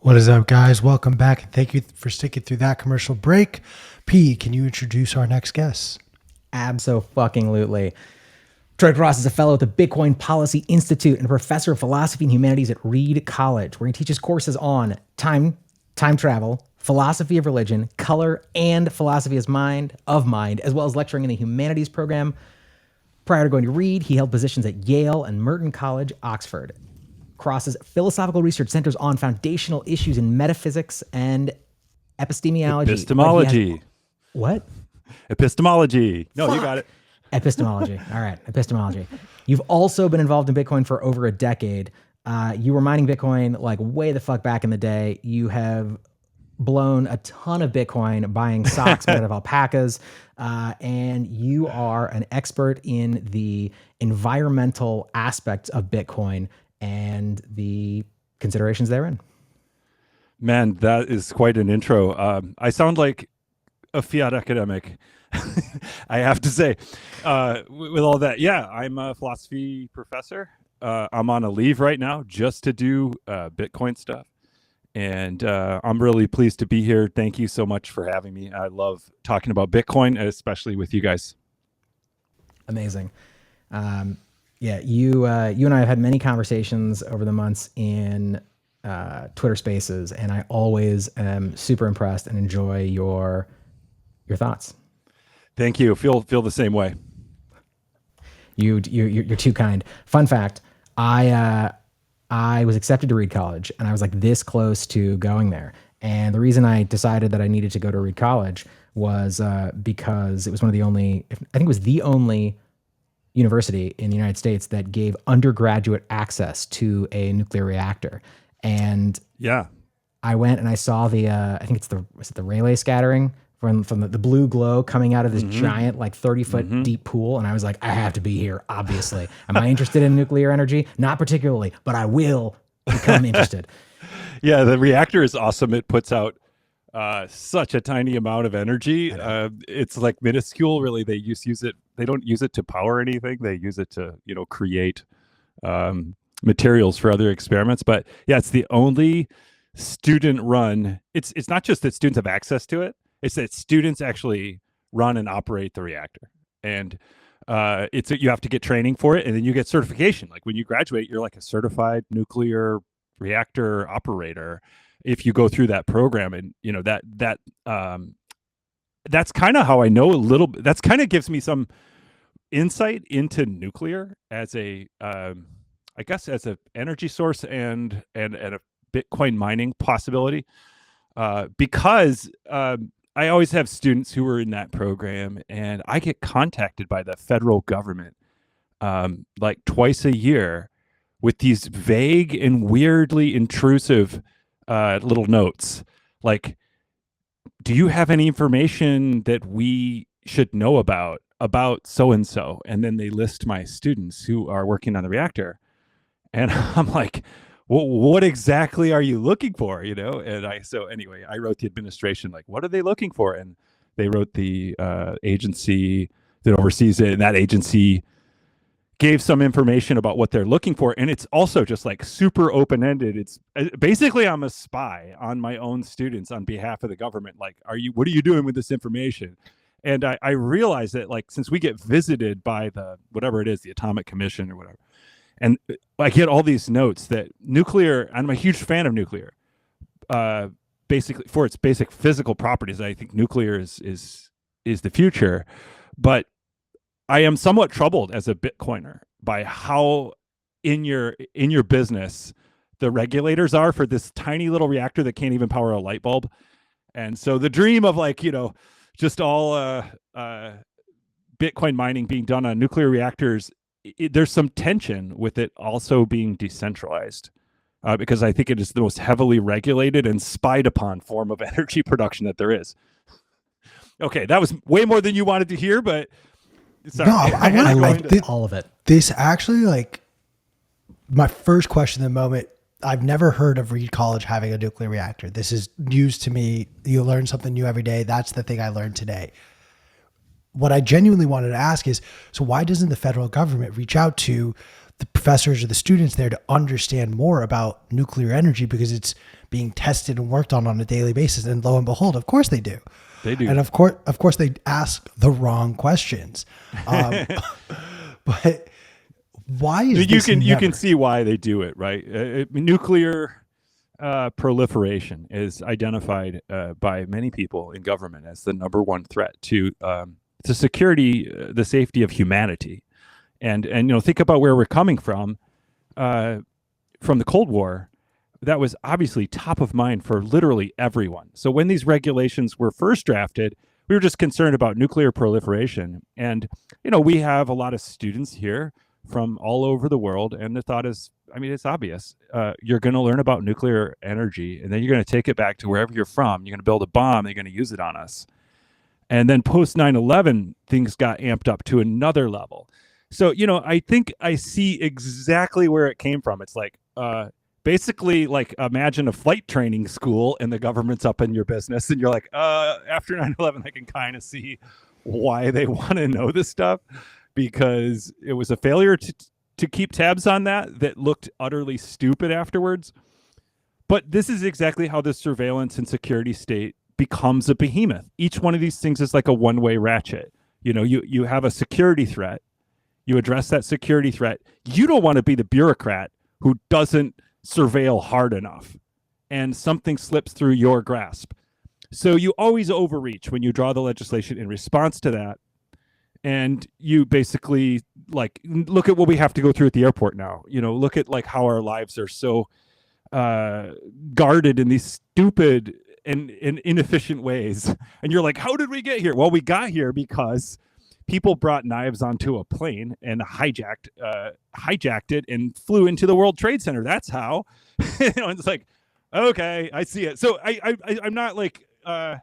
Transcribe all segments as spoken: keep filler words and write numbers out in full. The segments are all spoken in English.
What is up, guys? Welcome back, and thank you for sticking through that commercial break. P, can you introduce our next guest? Abso-fucking-lutely. Troy Cross is a fellow at the Bitcoin Policy Institute and a professor of philosophy and humanities at Reed College, where he teaches courses on time, time travel, philosophy of religion, color, and philosophy as mind of mind, as well as lecturing in the humanities program. Prior to going to Reed, he held positions at Yale and Merton College, Oxford. Cross's philosophical research centers on foundational issues in metaphysics and epistemology. Epistemology. Has, what? Epistemology. No, Fuck. You got it. Epistemology. All right. Epistemology. You've also been involved in Bitcoin for over a decade. Uh, you were mining Bitcoin like way the fuck back in the day. You have blown a ton of Bitcoin buying socks made out of alpacas. Uh, and you are an expert in the environmental aspects of Bitcoin and the considerations therein. Man, that is quite an intro. Um, I sound like a fiat academic, I have to say, uh, with all that. Yeah, I'm a philosophy professor. Uh, I'm on a leave right now just to do uh, Bitcoin stuff. And uh, I'm really pleased to be here. Thank you so much for having me. I love talking about Bitcoin, especially with you guys. Amazing. Um, yeah, you uh, you and I have had many conversations over the months in uh, Twitter Spaces, and I always am super impressed and enjoy your your thoughts. Thank you. Feel feel the same way. You you you're too kind. Fun fact: I uh, I was accepted to Reed College, and I was like this close to going there. And the reason I decided that I needed to go to Reed College was uh, because it was one of the only, I think it was the only university in the United States that gave undergraduate access to a nuclear reactor. And yeah, I went and I saw the, uh, I think it's the, was it the Rayleigh scattering from, from the, the blue glow coming out of this mm-hmm. giant, like thirty foot mm-hmm. deep pool. And I was like, I have to be here, obviously. Am I interested in nuclear energy? Not particularly, but I will become interested. Yeah, the reactor is awesome. It puts out uh, such a tiny amount of energy. Uh, it's like minuscule, really. They use use it. They don't use it to power anything. They use it to, you know, create um, materials for other experiments. But yeah, it's the only student run. It's it's not just that students have access to it. It's that students actually run and operate the reactor. And uh, it's you have to get training for it, and then you get certification. Like when you graduate, you're like a certified nuclear reactor operator if you go through that program. And you know that that um that's kind of how I know a little bit. That's kind of gives me some insight into nuclear as a um I guess as a energy source and and and a Bitcoin mining possibility, uh because um I always have students who are in that program, and I get contacted by the federal government um like twice a year with these vague and weirdly intrusive uh, little notes. Like, do you have any information that we should know about, about so-and-so? And then they list my students who are working on the reactor. And I'm like, well, what exactly are you looking for? You know? And I, so anyway, I wrote the administration, like, what are they looking for? And they wrote the uh, agency that oversees it. And that agency gave some information about what they're looking for. And it's also just like super open-ended. It's basically, I'm a spy on my own students on behalf of the government. Like, are you, what are you doing with this information? And I, I realized that, like, since we get visited by the, whatever it is, the Atomic Commission or whatever, and I get all these notes that nuclear, I'm a huge fan of nuclear, uh, basically for its basic physical properties. I think nuclear is, is, is the future, but I am somewhat troubled as a Bitcoiner by how in your in your business the regulators are for this tiny little reactor that can't even power a light bulb. And so the dream of, like, you know, just all uh, uh, Bitcoin mining being done on nuclear reactors, it, there's some tension with it also being decentralized, uh, because I think it is the most heavily regulated and spied upon form of energy production that there is. Okay, that was way more than you wanted to hear, but sorry. No, I, I, I, I like loved this, all of it. This actually, like, my first question at the moment, I've never heard of Reed College having a nuclear reactor. This is news to me. You learn something new every day. That's the thing I learned today. What I genuinely wanted to ask is, so why doesn't the federal government reach out to the professors or the students there to understand more about nuclear energy because it's being tested and worked on on a daily basis. And lo and behold, of course they do. They do. And of course, of course they ask the wrong questions. Um, but why is you this can never- you can see why they do it, right? Uh, it- nuclear uh, proliferation is identified uh, by many people in government as the number one threat to um, to security, uh, the safety of humanity, and and you know think about where we're coming from, uh, from the Cold War. That was obviously top of mind for literally everyone. So when these regulations were first drafted, we were just concerned about nuclear proliferation, and you know we have a lot of students here from all over the world, and the thought is, I mean, it's obvious. Uh, you're going to learn about nuclear energy, and then you're going to take it back to wherever you're from. You're going to build a bomb, and you're going to use it on us. And then post nine eleven, things got amped up to another level. So, you know, I think I see exactly where it came from. It's like, uh, basically, like, imagine a flight training school, and the government's up in your business, and you're like, uh, after nine eleven, I can kind of see why they want to know this stuff. Because it was a failure to to keep tabs on that that looked utterly stupid afterwards. But this is exactly how the surveillance and security state becomes a behemoth. Each one of these things is like a one-way ratchet. You know, you you have a security threat. You address that security threat. You don't want to be the bureaucrat who doesn't surveil hard enough and something slips through your grasp. So you always overreach when you draw the legislation in response to that. And you basically like look at what we have to go through at the airport now. You know, look at like how our lives are so uh, guarded in these stupid and, and inefficient ways. And you're like, how did we get here? Well, we got here because people brought knives onto a plane and hijacked uh, hijacked it and flew into the World Trade Center. That's how. You know, it's like, okay, I see it. So I, I, I I'm not like. Uh,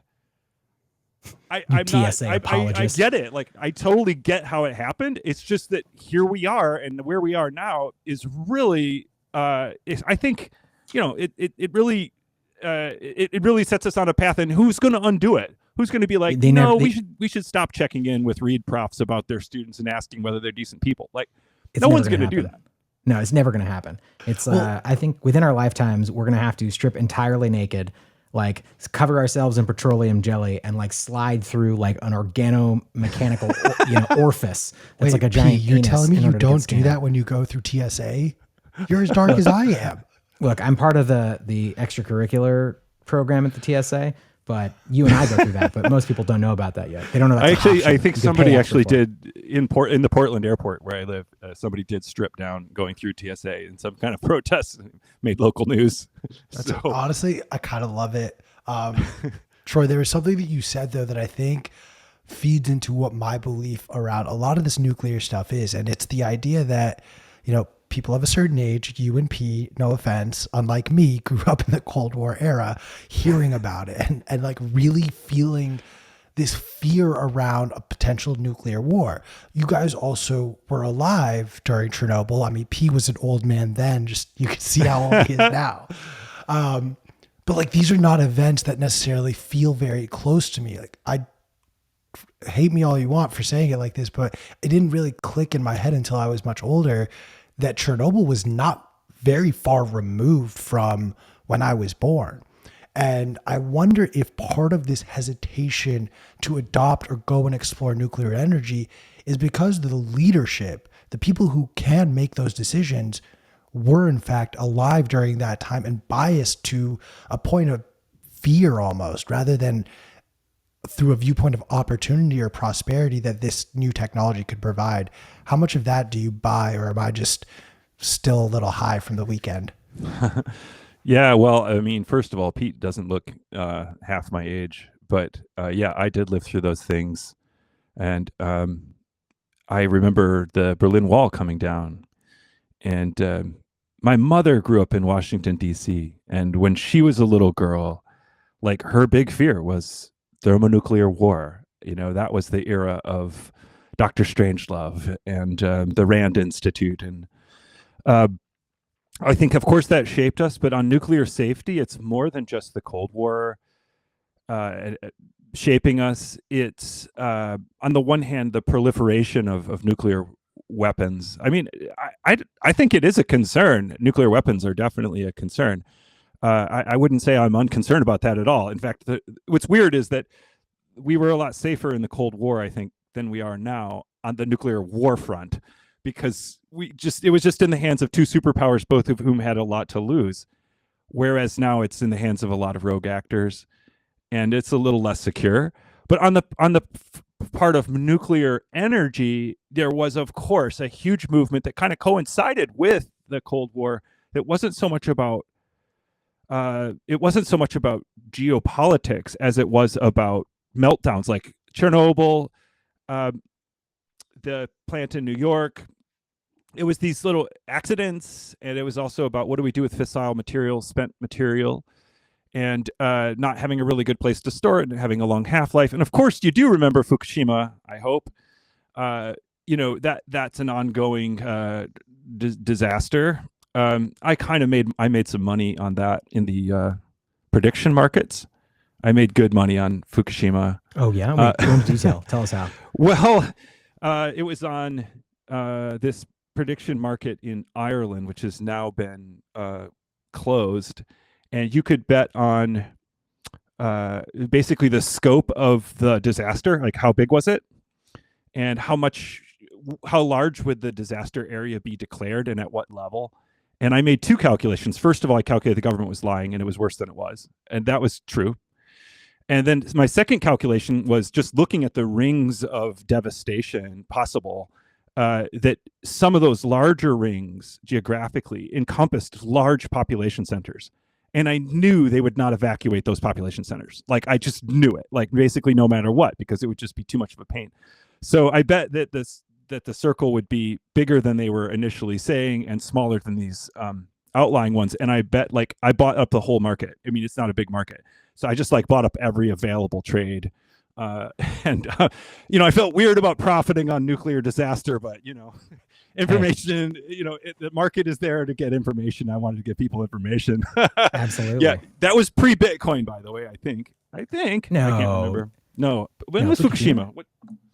I, I'm T S A not. I, I, I apologist. get it. Like I totally get how it happened. It's just that here we are, and where we are now is really. Uh, is, I think, you know, it it, it really, uh, it, it really sets us on a path. And who's going to undo it? Who's going to be like, They no, never- we they- should we should stop checking in with Reed profs about their students and asking whether they're decent people. Like, It's no never one's going to do happen. that. No, it's never going to happen. It's, uh, I think within our lifetimes, we're going to have to strip entirely naked, like cover ourselves in petroleum jelly and like slide through like an organo-mechanical, or- you know, orifice. That's Wait, like a P, giant you're penis telling me in you order to get don't do scanned. that when you go through T S A? You're as dark as I am. Look, I'm part of the, the extracurricular program at the T S A, but you and I go through that, but most people don't know about that yet. They don't know that's I an actually, option. I think You can somebody pay actually extra for it. did in Port in the Portland airport where I live. Uh, somebody did strip down going through T S A in some kind of protest, and made local news. So Honestly, I kind of love it. Um, Troy, there was something that you said though that I think feeds into what my belief around a lot of this nuclear stuff is. And it's the idea that, you know, people of a certain age, you and P, no offense, unlike me, grew up in the Cold War era, hearing about it and, and like really feeling this fear around a potential nuclear war. You guys also were alive during Chernobyl. I mean, P was an old man then, just you can see how old he is now. Um, but like, these are not events that necessarily feel very close to me. Like I hate me all you want for saying it like this, but it didn't really click in my head until I was much older that Chernobyl was not very far removed from when I was born. And I wonder if part of this hesitation to adopt or go and explore nuclear energy is because the leadership, the people who can make those decisions, were in fact alive during that time and biased to a point of fear almost, rather than through a viewpoint of opportunity or prosperity that this new technology could provide. How much of that do you buy, or am I just still a little high from the weekend? yeah, well, I mean, first of all, Pete doesn't look uh, half my age, but uh, yeah, I did live through those things, and um, I remember the Berlin Wall coming down, and um, my mother grew up in Washington D C, and when she was a little girl, like her big fear was thermonuclear war. You know, that was the era of Doctor Strangelove and um, the Rand Institute. And uh, I think, of course, that shaped us. But on nuclear safety, it's more than just the Cold War uh, shaping us. It's, uh, on the one hand, the proliferation of, of nuclear weapons. I mean, I, I, I think it is a concern. Nuclear weapons are definitely a concern. Uh, I, I wouldn't say I'm unconcerned about that at all. In fact, the, what's weird is that we were a lot safer in the Cold War, I think, than we are now on the nuclear war front, because we just it was just in the hands of two superpowers, both of whom had a lot to lose. Whereas now it's in the hands of a lot of rogue actors, and it's a little less secure. But on the on the f- part of nuclear energy, there was, of course, a huge movement that kind of coincided with the Cold War. That wasn't so much about uh, it wasn't so much about geopolitics as it was about meltdowns like Chernobyl, uh, the plant in New York. It was these little accidents, and it was also about what do we do with fissile material, spent material, and uh, not having a really good place to store it and having a long half-life. And of course, you do remember Fukushima, I hope. Uh, you know, that that's an ongoing uh, d- disaster. Um, I kind of made, I made some money on that in the uh, prediction markets. I made good money on Fukushima. Oh, yeah? Wait, Uh, go into detail. Tell us how. Well, uh, it was on uh, this prediction market in Ireland, which has now been uh, closed, and you could bet on uh, basically the scope of the disaster, like how big was it, and how much, how large would the disaster area be declared, and at what level. And I made two calculations. First of all, I calculated the government was lying, and it was worse than it was, and that was true. And then my second calculation was just looking at the rings of devastation possible, uh, that some of those larger rings geographically encompassed large population centers. And I knew they would not evacuate those population centers. Like, I just knew it, like basically no matter what, because it would just be too much of a pain. So I bet that this that the circle would be bigger than they were initially saying and smaller than these um, outlying ones. And I bet, like, I bought up the whole market. I mean, it's not a big market. So I just like bought up every available trade. Uh, and, uh, you know, I felt weird about profiting on nuclear disaster, but, you know, information, you know, it, the market is there to get information. I wanted to give people information. Absolutely. Yeah. That was pre-Bitcoin, by the way, I think. I think. No. I can't remember. No. When No, was Fukushima. Fukushima? What,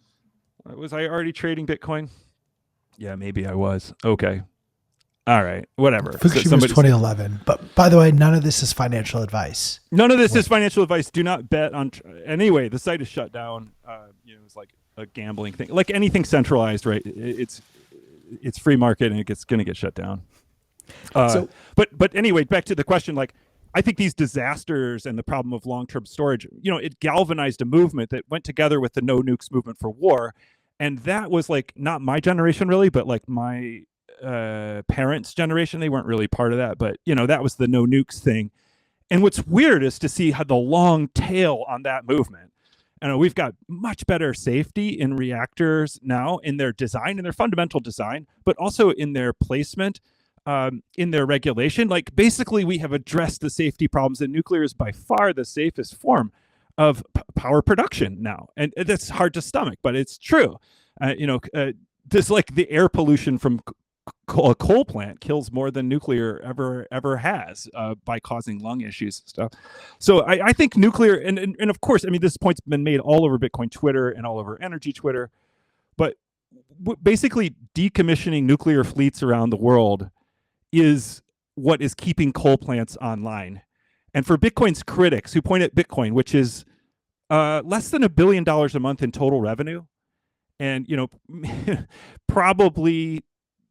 was I already trading Bitcoin? Yeah, maybe I was. Okay. All right. Whatever. Fukushima was Somebody- twenty eleven. But by the way, none of this is financial advice. None of this is financial advice. Do not bet on. Tr- anyway, the site is shut down. Uh, you know, it's like a gambling thing, like anything centralized, right? It, it's it's free market, and it's going to get shut down. Uh, So- but but anyway, back to the question. Like, I think these disasters and the problem of long-term storage, you know, it galvanized a movement that went together with the no nukes movement for war, and that was like not my generation really, but like my uh, parents' generation. They weren't really part of that, but you know, that was the no nukes thing. And what's weird is to see how the long tail on that movement. And we've got much better safety in reactors now in their design, in their fundamental design, but also in their placement, um, in their regulation. Like, basically, we have addressed the safety problems, and nuclear is by far the safest form of p- power production now. And that's hard to stomach, but it's true. Uh, you know, uh, this like the air pollution from c- a coal plant kills more than nuclear ever ever has, uh, by causing lung issues and stuff. So I, I think nuclear, and, and and of course, I mean, this point's been made all over Bitcoin Twitter and all over energy Twitter, but w- basically decommissioning nuclear fleets around the world is what is keeping coal plants online. And for Bitcoin's critics who point at Bitcoin, which is uh, less than a billion dollars a month in total revenue, and you know, probably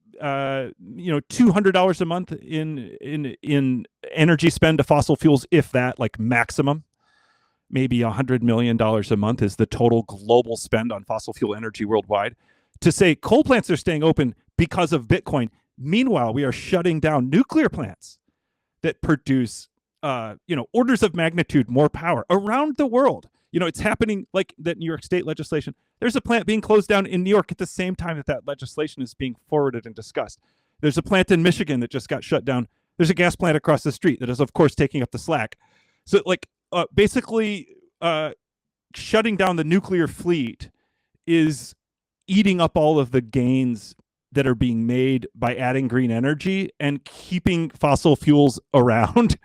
uh you know two hundred dollars a month in in in energy spend to fossil fuels, if that, like maximum maybe a hundred million dollars a month is the total global spend on fossil fuel energy worldwide. To say coal plants are staying open because of Bitcoin, meanwhile we are shutting down nuclear plants that produce uh you know orders of magnitude more power around the world. You know, it's happening, like that New York state legislation. There's a plant being closed down in New York at the same time that that legislation is being forwarded and discussed. There's a plant in Michigan that just got shut down. There's a gas plant across the street that is, of course, taking up the slack. So, like, uh, basically, uh, shutting down the nuclear fleet is eating up all of the gains that are being made by adding green energy and keeping fossil fuels around,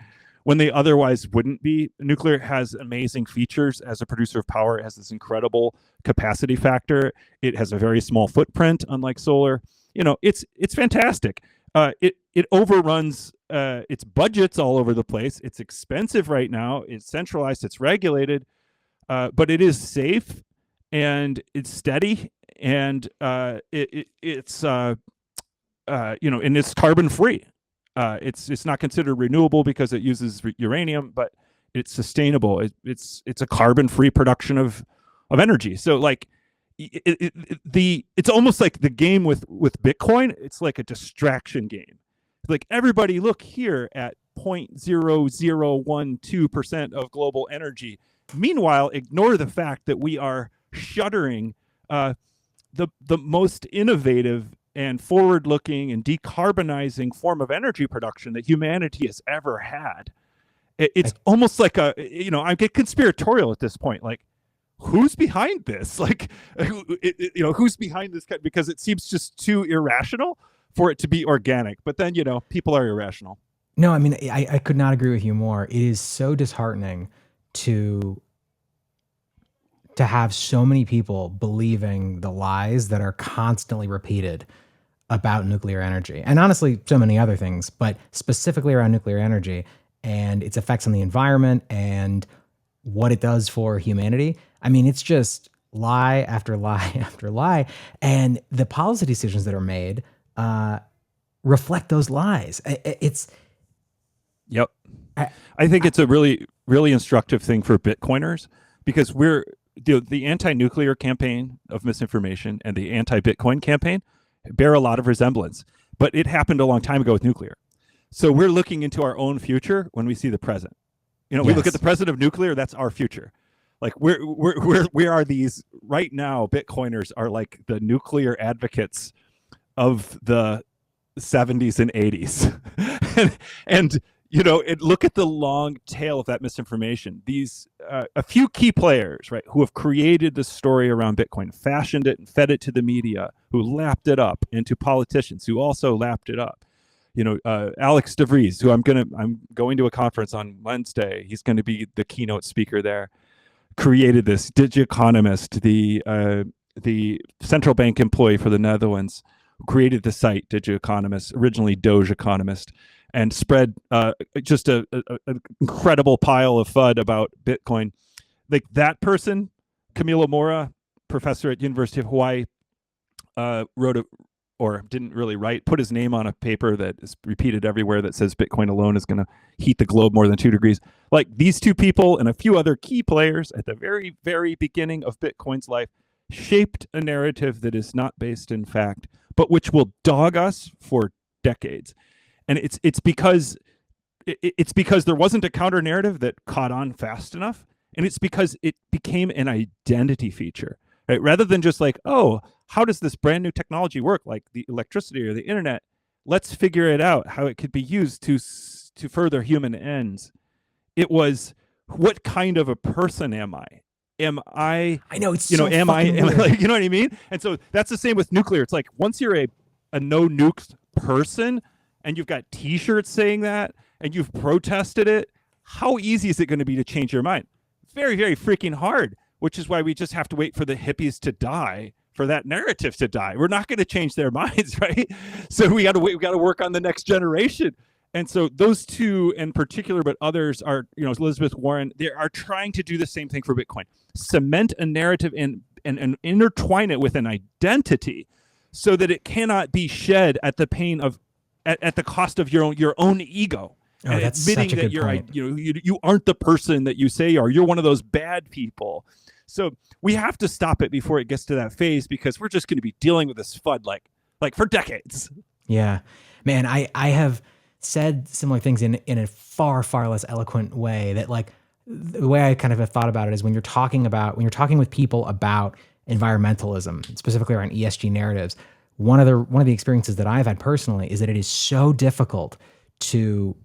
when they otherwise wouldn't be. Nuclear has amazing features as a producer of power. It has this incredible capacity factor. It has a very small footprint, unlike solar. You know, it's it's fantastic. Uh, it it overruns uh, its budgets all over the place. It's expensive right now. It's centralized. It's regulated, uh, but it is safe and it's steady, and uh, it, it it's uh, uh, you know, and it's carbon free. Uh, it's it's not considered renewable because it uses uranium, but it's sustainable. It, it's it's a carbon free production of of energy. So like it, it, it, the it's almost like the game with with Bitcoin. It's like a distraction game. Like everybody look here at zero point zero zero one two percent of global energy. Meanwhile, ignore the fact that we are shuttering uh, the the most innovative and forward-looking and decarbonizing form of energy production that humanity has ever had. It, it's I, almost like a, you know, I get conspiratorial at this point. Like, who's behind this? Like, it, it, you know, who's behind this? Because it seems just too irrational for it to be organic. But then, you know, people are irrational. No, I mean, I, I could not agree with you more. It is so disheartening to to have so many people believing the lies that are constantly repeated about nuclear energy, and honestly, so many other things, but specifically around nuclear energy and its effects on the environment and what it does for humanity. I mean, it's just lie after lie after lie, and the policy decisions that are made uh, reflect those lies. It's yep. I, I think it's a really, really instructive thing for Bitcoiners, because we're the, the anti-nuclear campaign of misinformation and the anti-Bitcoin campaign bear a lot of resemblance, but it happened a long time ago with nuclear. So we're looking into our own future when we see the present. You know, we yes. look at the present of nuclear, that's our future. Like we're, we're, we're, we are these right now, Bitcoiners are like the nuclear advocates of the seventies and eighties. and, and, you know, it, look at the long tail of that misinformation. These, uh, a few key players, right, who have created the story around Bitcoin, fashioned it and fed it to the media, who lapped it up, and to politicians who also lapped it up. You know, uh, Alex DeVries, who I'm gonna, I'm going to a conference on Wednesday. He's going to be the keynote speaker there. Created this Digiconomist, the uh, the central bank employee for the Netherlands, who created the site Digiconomist, originally Doge Economist, and spread uh, just a, a, a incredible pile of FUD about Bitcoin. Like that person, Camilo Moura, professor at University of Hawaii, uh, wrote a, or didn't really write, put his name on a paper that is repeated everywhere that says Bitcoin alone is going to heat the globe more than two degrees. Like these two people and a few other key players at the very, very beginning of Bitcoin's life shaped a narrative that is not based in fact, but which will dog us for decades. And it's it's because it, it's because there wasn't a counter narrative that caught on fast enough, and it's because it became an identity feature, right? Rather than just like, oh, how does this brand new technology work, like the electricity or the internet? Let's figure it out how it could be used to to further human ends. It was, what kind of a person am I? Am I? I know it's you know, so am I? Am I weird. like, you know what I mean? And so that's the same with nuclear. It's like once you're a a no nukes person, and you've got T-shirts saying that, and you've protested it, how easy is it going to be to change your mind? Very, very freaking hard, which is why we just have to wait for the hippies to die, for that narrative to die. We're not going to change their minds, right? So we got to wait. We got to work on the next generation. And so those two in particular, but others are, you know, Elizabeth Warren, they are trying to do the same thing for Bitcoin. Cement a narrative and, and, and intertwine it with an identity so that it cannot be shed at the pain of At, at the cost of your own your own ego, oh, and that's admitting such a that good you're point. you know you, you aren't the person that you say you are. You're one of those bad people. So we have to stop it before it gets to that phase, because we're just going to be dealing with this FUD like like for decades. Yeah, man, I I have said similar things in in a far far less eloquent way. That like the way I kind of have thought about it is when you're talking about when you're talking with people about environmentalism, specifically around E S G narratives. One of the one of the experiences that I've had personally is that it is so difficult to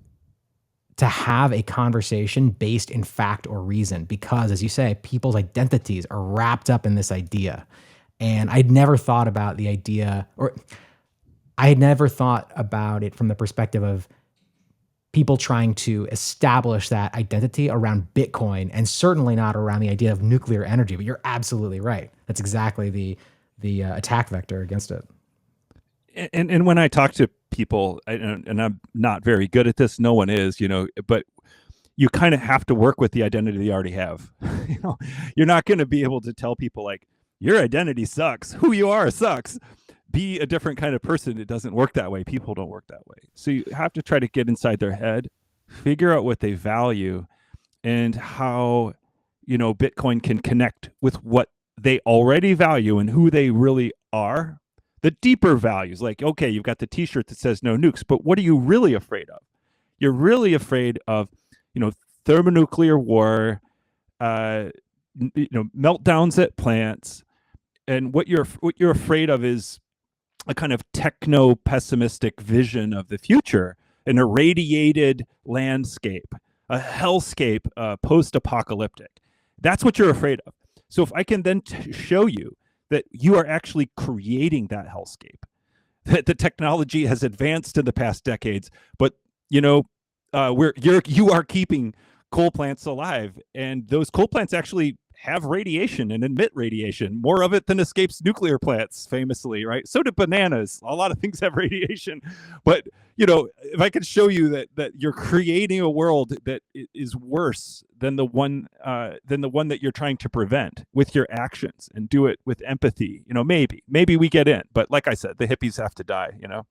to have a conversation based in fact or reason, because, as you say, people's identities are wrapped up in this idea. And I'd never thought about the idea, or I had never thought about it from the perspective of people trying to establish that identity around Bitcoin, and certainly not around the idea of nuclear energy. But you're absolutely right. That's exactly the the uh, attack vector against it. And and when I talk to people, and, and I'm not very good at this, no one is, you know, but you kind of have to work with the identity you already have. You know, you're not going to be able to tell people like your identity sucks. Who you are sucks. Be a different kind of person. It doesn't work that way. People don't work that way. So you have to try to get inside their head, figure out what they value, and how, you know, Bitcoin can connect with what they already value and who they really are. The deeper values, like, okay, you've got the t-shirt that says no nukes, but what are you really afraid of? You're really afraid of, you know, thermonuclear war, uh, you know, meltdowns at plants. And what you're what you're afraid of is a kind of techno-pessimistic vision of the future, an irradiated landscape, a hellscape, uh, post-apocalyptic. That's what you're afraid of. So if I can then t- show you that you are actually creating that hellscape, that the technology has advanced in the past decades, but you know, uh, we're you're you are keeping coal plants alive, and those coal plants actually have radiation and emit radiation, more of it than escapes nuclear plants, famously, right? So do bananas. A lot of things have radiation. But, you know, if I could show you that that you're creating a world that is worse than the one uh, than the one that you're trying to prevent with your actions, and do it with empathy, you know, maybe, maybe we get in. But like I said, the hippies have to die, you know?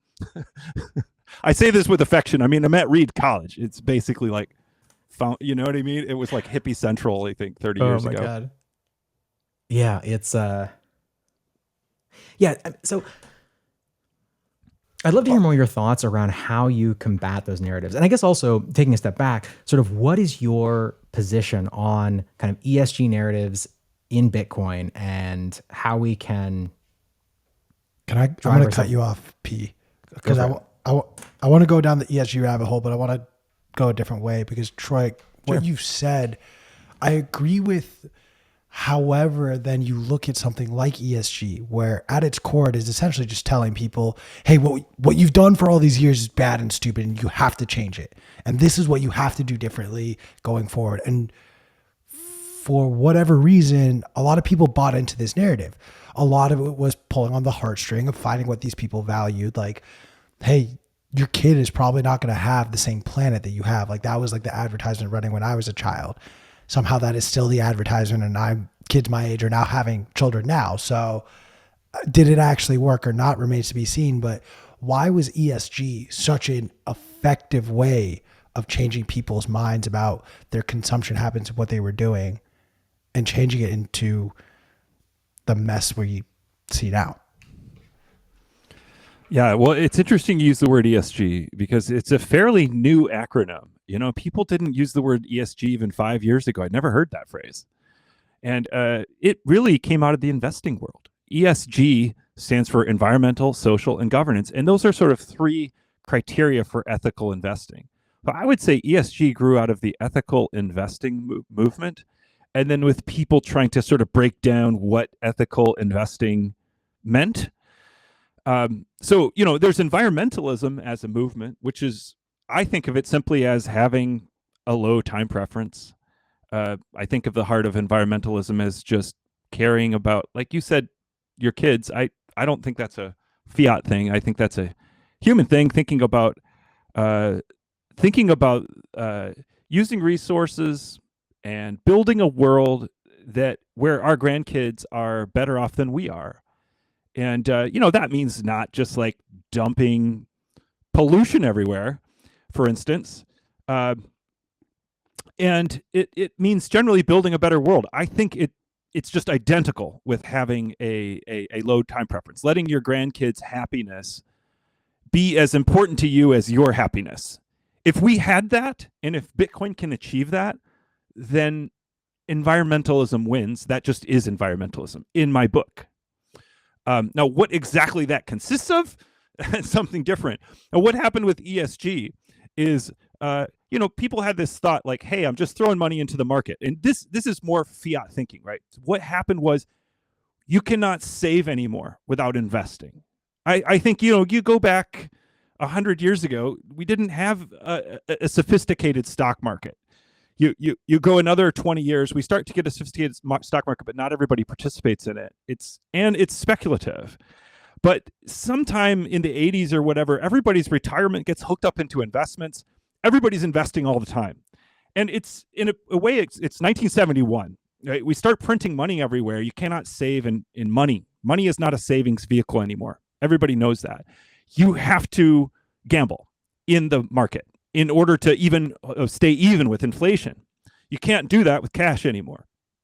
I say this with affection. I mean, I'm at Reed College. It's basically like, Found, you know what I mean? It was like hippie central, I think, thirty years oh my ago. God. Yeah, it's uh yeah, so I'd love to hear more of your thoughts around how you combat those narratives. And I guess also taking a step back, sort of what is your position on kind of E S G narratives in Bitcoin, and how we can Can I I'm going to cut you off, P, because I, I, I want to go down the E S G rabbit hole, but I want to go a different way, because Troy, what Sure. you said, I agree with. However, then you look at something like E S G, where at its core, it is essentially just telling people, hey, what, what you've done for all these years is bad and stupid, and you have to change it. And this is what you have to do differently going forward. And for whatever reason, a lot of people bought into this narrative. A lot of it was pulling on the heartstring of finding what these people valued. Like, hey, your kid is probably not going to have the same planet that you have. Like, that was like the advertisement running when I was a child. Somehow that is still the advertisement, and I'm kids my age are now having children now. So did it actually work or not remains to be seen. But why was E S G such an effective way of changing people's minds about their consumption habits of what they were doing, and changing it into the mess we see now? Yeah, well, it's interesting you use the word E S G, because it's a fairly new acronym. You know, people didn't use the word E S G even five years ago. I'd never heard that phrase. And uh, it really came out of the investing world. E S G stands for environmental, social, and governance. And those are sort of three criteria for ethical investing. But I would say E S G grew out of the ethical investing mo- movement. And then with people trying to sort of break down what ethical investing meant. Um, so, you know, there's environmentalism as a movement, which is, I think of it simply as having a low time preference. Uh, I think of the heart of environmentalism as just caring about, like you said, your kids. I, I don't think that's a fiat thing. I think that's a human thing, thinking about uh, thinking about uh, using resources and building a world that where our grandkids are better off than we are. And, uh, you know, that means not just like dumping pollution everywhere, for instance. Uh, and it, it means generally building a better world. I think it it's just identical with having a, a, a low time preference, letting your grandkids' happiness be as important to you as your happiness. If we had that, and if Bitcoin can achieve that, then environmentalism wins. That just is environmentalism in my book. Um, now, what exactly that consists of, something different. Now, what happened with E S G is, uh, you know, people had this thought like, hey, I'm just throwing money into the market. And this this is more fiat thinking, right? What happened was you cannot save anymore without investing. I, I think, you know, you go back A hundred years ago, we didn't have a, a, a sophisticated stock market. You, you you go another twenty years, we start to get a sophisticated stock market, but not everybody participates in it. It's and it's speculative. But sometime in the eighties or whatever, everybody's retirement gets hooked up into investments. Everybody's investing all the time. And it's in a, a way, it's, it's nineteen seventy-one. Right? We start printing money everywhere. You cannot save in, in money. Money is not a savings vehicle anymore. Everybody knows that. You have to gamble in the market in order to even uh, stay even with inflation. You can't do that with cash anymore.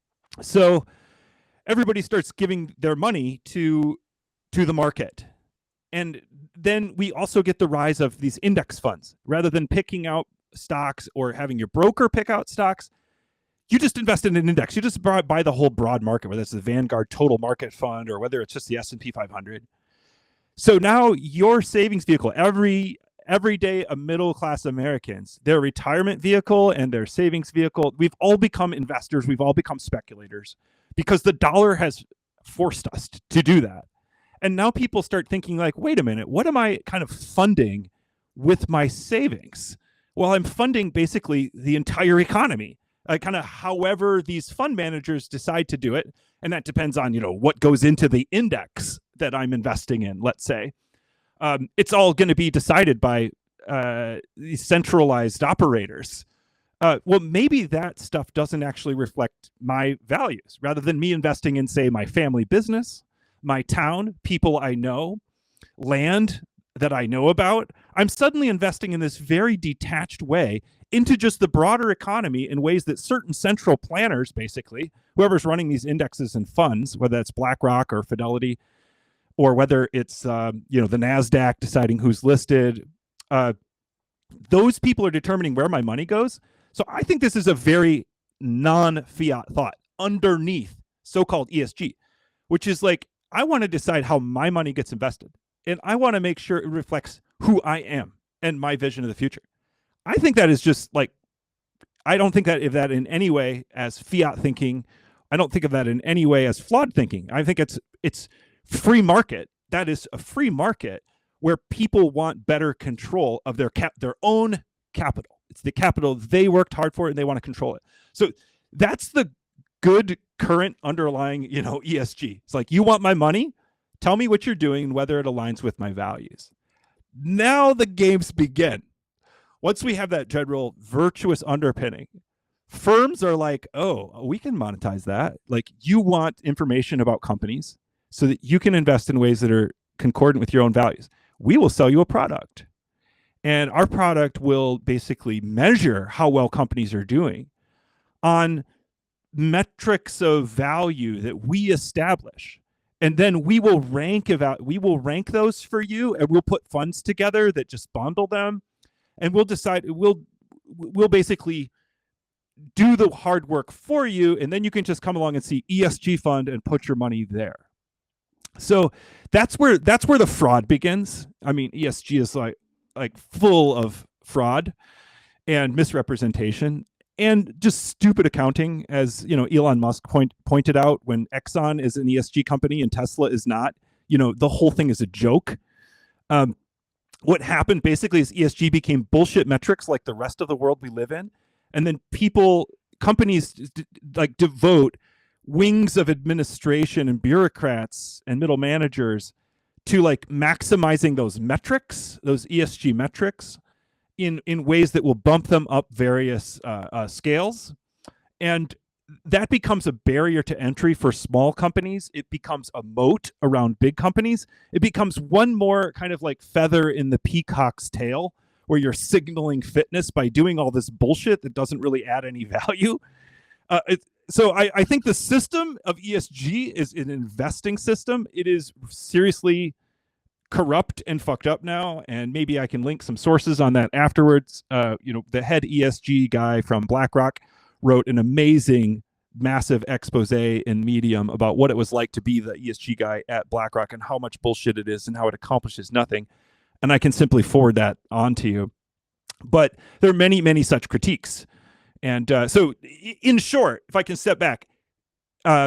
So everybody starts giving their money to, to the market. And then we also get the rise of these index funds. Rather than picking out stocks or having your broker pick out stocks, you just invest in an index. You just buy, buy the whole broad market, whether it's the Vanguard Total Market Fund or whether it's just the S and P five hundred. So now your savings vehicle, every every day, a middle class Americans, their retirement vehicle and their savings vehicle, we've all become investors. We've all become speculators because the dollar has forced us to do that. And now people start thinking like, wait a minute, what am I kind of funding with my savings? Well, I'm funding basically the entire economy. Uh, kind of however these fund managers decide to do it. And that depends on, you know, what goes into the index that I'm investing in, let's say. Um, it's all going to be decided by uh, these centralized operators. Uh, well, maybe that stuff doesn't actually reflect my values. Rather than me investing in, say, my family business, my town, people I know, land that I know about, I'm suddenly investing in this very detached way into just the broader economy in ways that certain central planners, basically, whoever's running these indexes and funds, whether it's BlackRock or Fidelity, or whether it's um, you know the NASDAQ deciding who's listed, uh, those people are determining where my money goes. So I think this is a very non-fiat thought underneath so-called E S G, which is like, I want to decide how my money gets invested. And I want to make sure it reflects who I am and my vision of the future. I think that is just like, I don't think that if that in any way as fiat thinking. I don't think of that in any way as flawed thinking. I think it's it's free market. That is a free market where people want better control of their cap, their own capital. It's the capital they worked hard for and they want to control it. So that's the good current underlying, you know, E S G. It's like, you want my money? Tell me what you're doing and whether it aligns with my values. Now the games begin. Once we have that general virtuous underpinning, firms are like, oh, we can monetize that. Like, you want information about companies so that you can invest in ways that are concordant with your own values. We will sell you a product. And our product will basically measure how well companies are doing on metrics of value that we establish. And then we will rank about we will rank those for you, and we'll put funds together that just bundle them, and we'll decide we'll we'll basically do the hard work for you, and then you can just come along and see E S G fund and put your money there. So that's where that's where the fraud begins. I mean, E S G is like like full of fraud and misrepresentation and just stupid accounting, as you know, Elon Musk point, pointed out, when Exxon is an E S G company and Tesla is not. You know, the whole thing is a joke. Um, what happened basically is E S G became bullshit metrics like the rest of the world we live in, and then people, companies, d- like devote wings of administration and bureaucrats and middle managers to like maximizing those metrics, those E S G metrics, in in ways that will bump them up various uh, uh, scales. And that becomes a barrier to entry for small companies. It becomes a moat around big companies. It becomes one more kind of like feather in the peacock's tail, where you're signaling fitness by doing all this bullshit that doesn't really add any value. Uh, it, so I, I think the system of E S G is an investing system. It is seriously corrupt and fucked up now, and maybe I can link some sources on that afterwards. Uh, you know, the head E S G guy from BlackRock wrote an amazing, massive expose in Medium about what it was like to be the E S G guy at BlackRock and how much bullshit it is and how it accomplishes nothing. And I can simply forward that on to you. But there are many, many such critiques. And uh, so, in short, if I can step back, uh,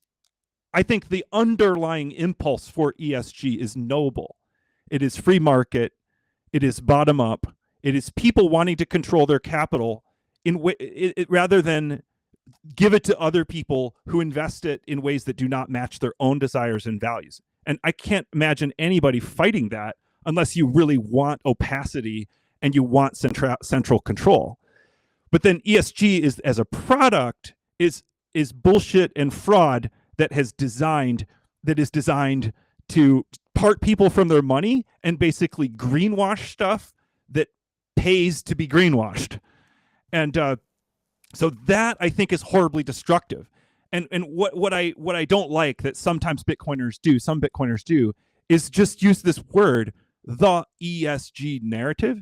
I think the underlying impulse for E S G is noble. It is free market. It is bottom up. It is people wanting to control their capital in w- it, it, rather than give it to other people who invest it in ways that do not match their own desires and values. And I can't imagine anybody fighting that unless you really want opacity and you want central central control. But then E S G is as a product is is bullshit and fraud that has designed that is designed to part people from their money and basically greenwash stuff that pays to be greenwashed. And uh, so that I think is horribly destructive. And and what what I what I don't like that sometimes Bitcoiners do, some Bitcoiners do, is just use this word, the E S G narrative.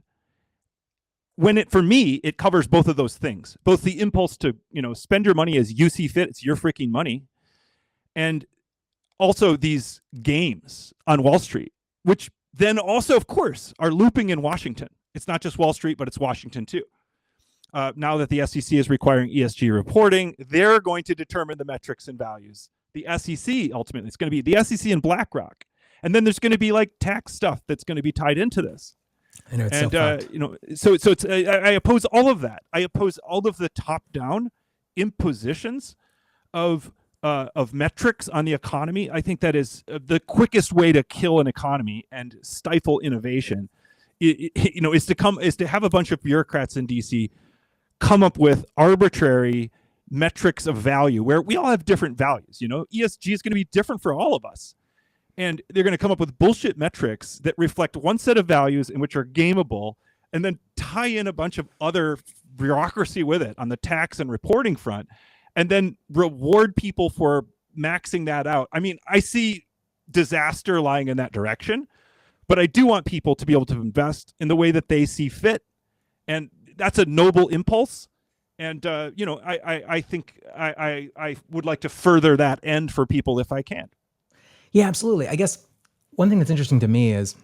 When it, for me, it covers both of those things, both the impulse to, you know, spend your money as you see fit, it's your freaking money, and also these games on Wall Street, which then also, of course, are looping in Washington. It's not just Wall Street, but it's Washington too. Uh, now that the S E C is requiring E S G reporting, they're going to determine the metrics and values. The S E C, ultimately, it's going to be the S E C and BlackRock. And then there's going to be like tax stuff that's going to be tied into this. I know it's and so uh, fucked. you know, so so it's I, I oppose all of that. I oppose all of the top-down impositions of uh, of metrics on the economy. I think that is uh, the quickest way to kill an economy and stifle innovation. It, it, you know, is to come is to have a bunch of bureaucrats in D C come up with arbitrary metrics of value where we all have different values. You know, E S G is going to be different for all of us. And they're going to come up with bullshit metrics that reflect one set of values in which are gameable, and then tie in a bunch of other bureaucracy with it on the tax and reporting front, and then reward people for maxing that out. I mean, I see disaster lying in that direction, but I do want people to be able to invest in the way that they see fit. And that's a noble impulse. And, uh, you know, I, I, I think I, I, I would like to further that end for people if I can. Yeah, absolutely. I guess one thing that's interesting to me is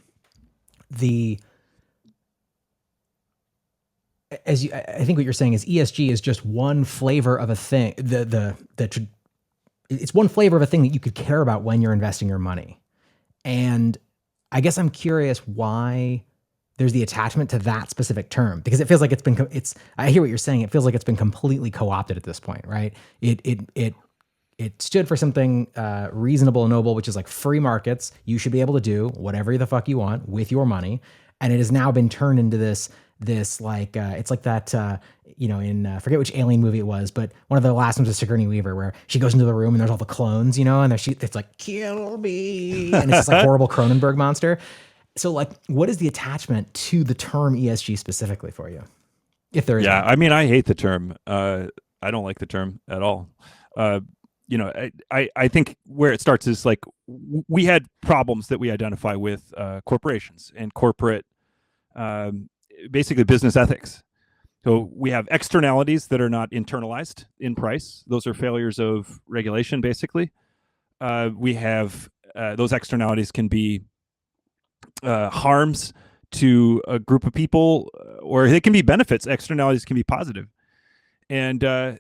the, as you, I think what you're saying is E S G is just one flavor of a thing. The, the, the, it's one flavor of a thing that you could care about when you're investing your money. And I guess I'm curious why there's the attachment to that specific term, because it feels like it's been, it's, I hear what you're saying. It feels like it's been completely co-opted at this point, right? It, it, it, It stood for something uh, reasonable and noble, which is like free markets. You should be able to do whatever the fuck you want with your money. And it has now been turned into this, this like, uh, it's like that, uh, you know, in, uh, forget which alien movie it was, but one of the last ones was Sigourney Weaver, where she goes into the room and there's all the clones, you know, and there's, she, it's like, kill me. And it's this like horrible Cronenberg monster. So like, what is the attachment to the term E S G specifically for you? If there is Yeah, one? I mean, I hate the term. Uh, I don't like the term at all. Uh, you know, I, I, I think where it starts is like w- we had problems that we identify with uh, corporations and corporate, um, basically business ethics. So we have externalities that are not internalized in price. Those are failures of regulation, basically. Uh, we have uh, those externalities can be uh, harms to a group of people, or they can be benefits. Externalities can be positive. And uh,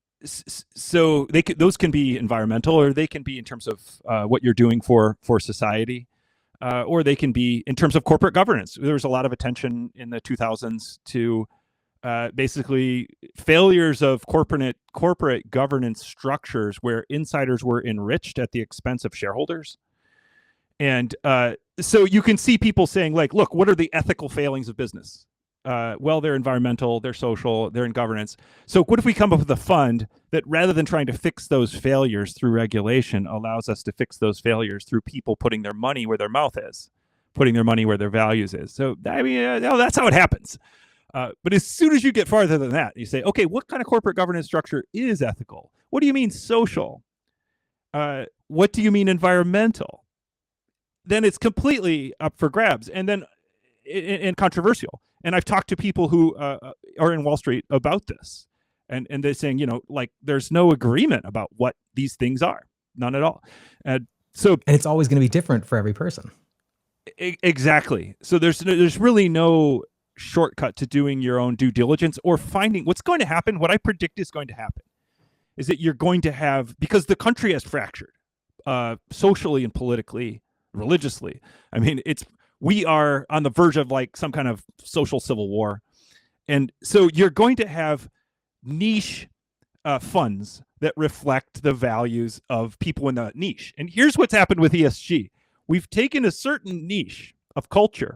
so they could, those can be environmental, or they can be in terms of uh, what you're doing for for society, uh, or they can be in terms of corporate governance. There was a lot of attention in the two thousands to uh, basically failures of corporate corporate governance structures where insiders were enriched at the expense of shareholders. And uh, so you can see people saying, like, look, what are the ethical failings of business? Uh, well, they're environmental, they're social, they're in governance. So what if we come up with a fund that, rather than trying to fix those failures through regulation, allows us to fix those failures through people putting their money where their mouth is, putting their money where their values is. So I mean, uh, no, that's how it happens. Uh, but as soon as you get farther than that, you say, okay, what kind of corporate governance structure is ethical? What do you mean social? Uh, what do you mean environmental? Then it's completely up for grabs, and then and controversial. And I've talked to people who uh, are in Wall Street about this, and and they're saying, you know, like, there's no agreement about what these things are, none at all. And so, And it's always going to be different for every person. e- exactly. So there's there's really no shortcut to doing your own due diligence or finding what's going to happen. What I predict is going to happen is that you're going to have, because the country has fractured uh, socially and politically, religiously. I mean, it's we are on the verge of like some kind of social civil war. And so you're going to have niche uh, funds that reflect the values of people in the niche. And here's what's happened with E S G. We've taken a certain niche of culture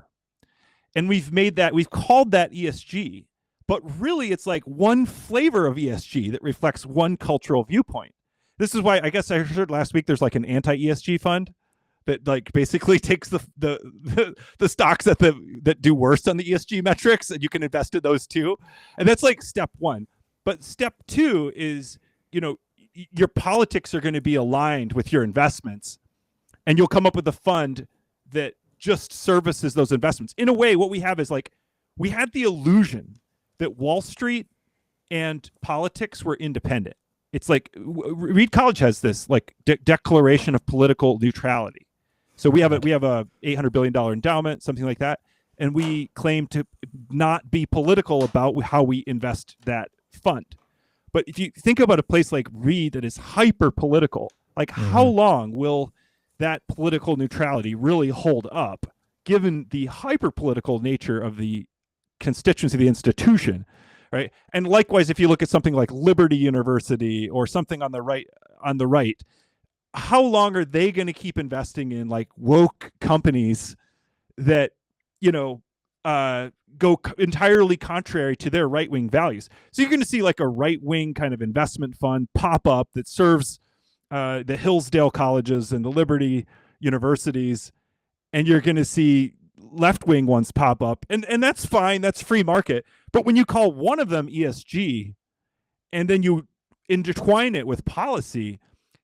and we've made that, we've called that E S G, but really it's like one flavor of E S G that reflects one cultural viewpoint. This is why I guess I heard last week there's like an anti-E S G fund that like basically takes the, the the the stocks that the that do worse on the E S G metrics, and you can invest in those too. And that's like step one. But step two is, you know, your politics are going to be aligned with your investments, and you'll come up with a fund that just services those investments. In a way, what we have is like, we had the illusion that Wall Street and politics were independent. It's like, Reed College has this like de- declaration of political neutrality. So we have a we have a eight hundred billion dollars endowment, something like that, and we claim to not be political about how we invest that fund. But if you think about a place like Reed that is hyper political, like mm-hmm. how long will that political neutrality really hold up, given the hyper political nature of the constituency of the institution, right? And likewise, if you look at something like Liberty University or something on the right, on the right, how long are they going to keep investing in like woke companies that, you know, uh, go c- entirely contrary to their right-wing values? So you're going to see like a right-wing kind of investment fund pop up that serves uh, the Hillsdale colleges and the Liberty universities, and you're going to see left-wing ones pop up, and and that's fine, that's free market. But when you call one of them E S G and then you intertwine it with policy,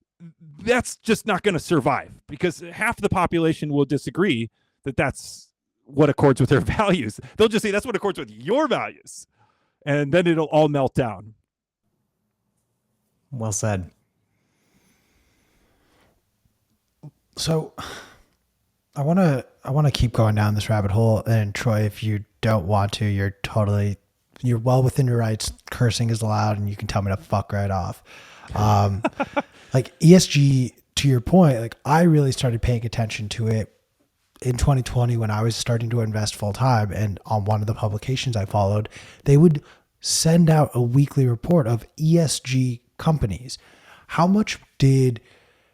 that's just not going to survive, because half the population will disagree that that's what accords with their values. They'll just say that's what accords with your values, and then it'll all melt down. Well said. So I want to I want to keep going down this rabbit hole, and Troy, if you don't want to, you're totally you're well within your rights. Cursing is allowed, and you can tell me to fuck right off. Um, like E S G, to your point, like I really started paying attention to it in twenty twenty when I was starting to invest full time, and on one of the publications I followed, they would send out a weekly report of E S G companies. How much did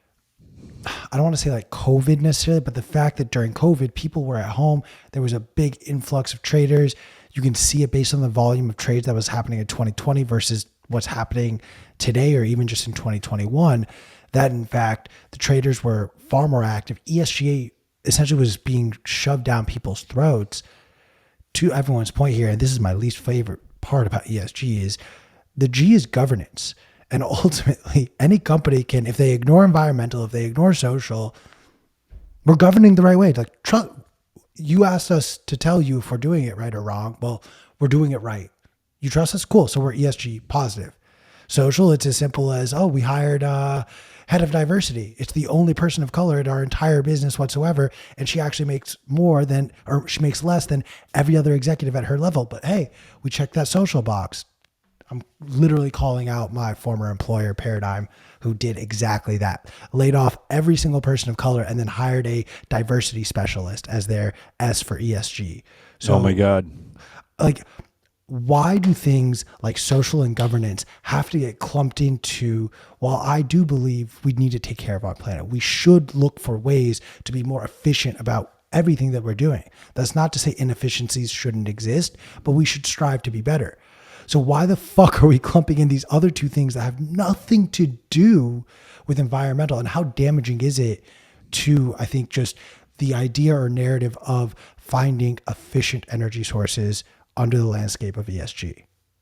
I don't want to say like COVID necessarily, but the fact that during COVID, people were at home, there was a big influx of traders. You can see it based on the volume of trades that was happening in twenty twenty versus what's happening today, or even just in twenty twenty-one, that in fact, the traders were far more active. E S G essentially was being shoved down people's throats. To everyone's point here, and this is my least favorite part about E S G, is the G is governance. And ultimately, any company can, if they ignore environmental, if they ignore social, we're governing the right way. Like, tr- you asked us to tell you if we're doing it right or wrong. Well, we're doing it right. You trust us? Cool. So we're E S G positive. Social, it's as simple as, oh, we hired a head of diversity. It's the only person of color in our entire business whatsoever. And she actually makes more than, or she makes less than every other executive at her level. But hey, we checked that social box. I'm literally calling out my former employer, Paradigm, who did exactly that. Laid off every single person of color and then hired a diversity specialist as their S for E S G. So, oh my God. Like, why do things like social and governance have to get clumped into, while I do believe we need to take care of our planet, we should look for ways to be more efficient about everything that we're doing. That's not to say inefficiencies shouldn't exist, but we should strive to be better. So why the fuck are we clumping in these other two things that have nothing to do with environmental, and how damaging is it to, I think, just the idea or narrative of finding efficient energy sources under the landscape of E S G?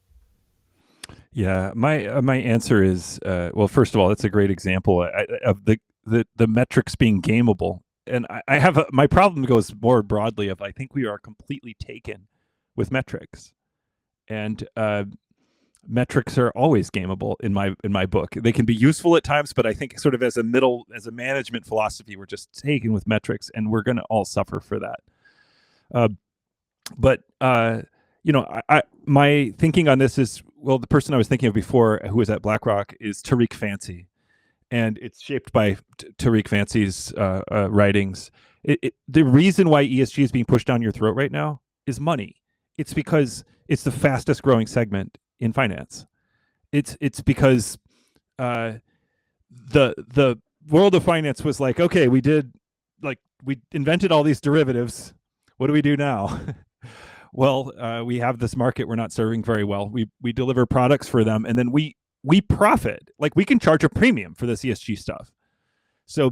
Yeah, my uh, my answer is, uh, well, first of all, it's a great example uh, of the, the, the metrics being gameable. And I, I have a, my problem goes more broadly of, I think we are completely taken with metrics. And uh, metrics are always gameable in my in my book. They can be useful at times, but I think sort of as a middle, as a management philosophy, we're just taken with metrics, and we're going to all suffer for that. Uh, but uh, you know, I, I my thinking on this is, well, the person I was thinking of before, who was at BlackRock, is Tariq Fancy, and it's shaped by T- Tariq Fancy's uh, uh, writings. it, it, the reason why E S G is being pushed down your throat right now is money. It's because it's the fastest growing segment in finance. It's it's because uh, the the world of finance was like, okay, we did like we invented all these derivatives. What do we do now? Well, uh, we have this market we're not serving very well. We we deliver products for them, and then we we profit. Like we can charge a premium for this E S G stuff. So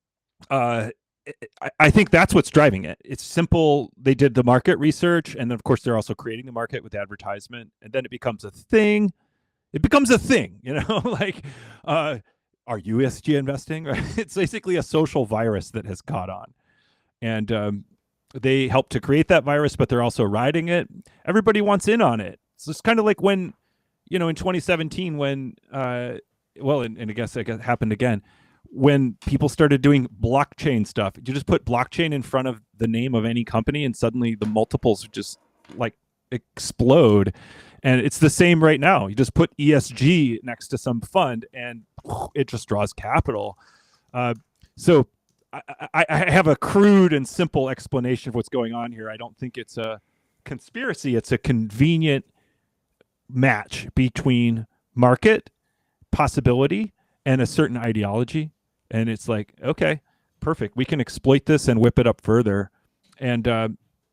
uh, I, I think that's what's driving it. It's simple. They did the market research, and then of course they're also creating the market with advertisement, and then it becomes a thing. It becomes a thing, you know. Like, uh, are you E S G investing? Right? It's basically a social virus that has caught on, and um, they help to create that virus, but they're also riding it. Everybody wants in on it. So it's kind of like when, you know, in twenty seventeen, when, uh, well, and, and I guess it happened again, when people started doing blockchain stuff. You just put blockchain in front of the name of any company, and suddenly the multiples just like explode. And it's the same right now. You just put E S G next to some fund, and it just draws capital. Uh, so. I, I have a crude and simple explanation of what's going on here. I don't think it's a conspiracy. It's a convenient match between market possibility and a certain ideology. And it's like, okay, perfect. We can exploit this and whip it up further. And uh,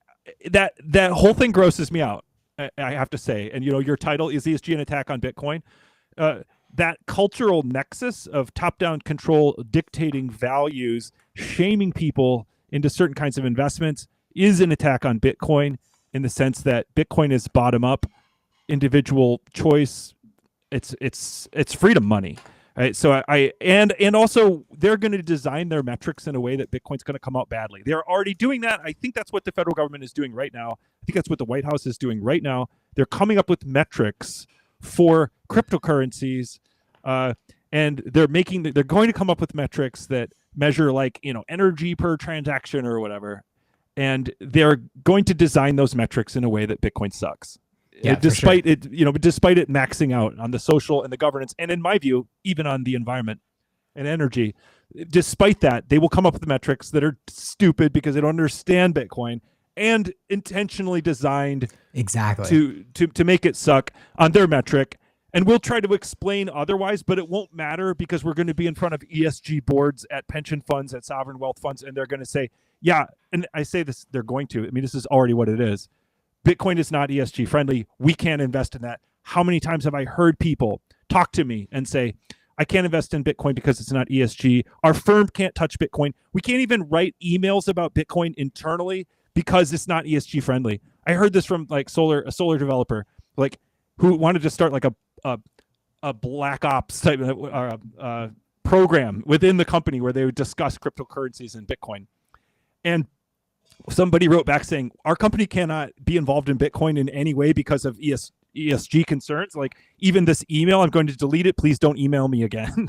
that that whole thing grosses me out, I, I have to say. And, you know, your title is E S G an attack on Bitcoin. Uh, that cultural nexus of top-down control, dictating values, shaming people into certain kinds of investments is an attack on Bitcoin, in the sense that Bitcoin is bottom-up, individual choice. It's it's it's freedom money, right? So I, I and and also they're going to design their metrics in a way that Bitcoin's going to come out badly. They're already doing that. I think that's what the federal government is doing right now. I think that's what the White House is doing right now. They're coming up with metrics for cryptocurrencies, uh, and they're making they're going to come up with metrics that measure, like, you know, energy per transaction or whatever, and they're going to design those metrics in a way that Bitcoin sucks. Yeah, uh, despite sure. it, you know, despite it maxing out on the social and the governance, and in my view, even on the environment and energy. Despite that, they will come up with metrics that are stupid because they don't understand Bitcoin, and intentionally designed Exactly. to to to make it suck on their metric. And we'll try to explain otherwise, but it won't matter, because we're going to be in front of E S G boards at pension funds, at sovereign wealth funds, and they're going to say, yeah, and I say this, they're going to, I mean, this is already what it is. Bitcoin is not E S G friendly. We can't invest in that. How many times have I heard people talk to me and say, I can't invest in Bitcoin because it's not E S G. Our firm can't touch Bitcoin. We can't even write emails about Bitcoin internally because it's not E S G friendly. I heard this from like solar, a solar developer, like, who wanted to start like a a, a black ops type of uh, uh, program within the company where they would discuss cryptocurrencies and Bitcoin. And somebody wrote back saying, our company cannot be involved in Bitcoin in any way because of E S, E S G concerns. Like, even this email, I'm going to delete it. Please don't email me again.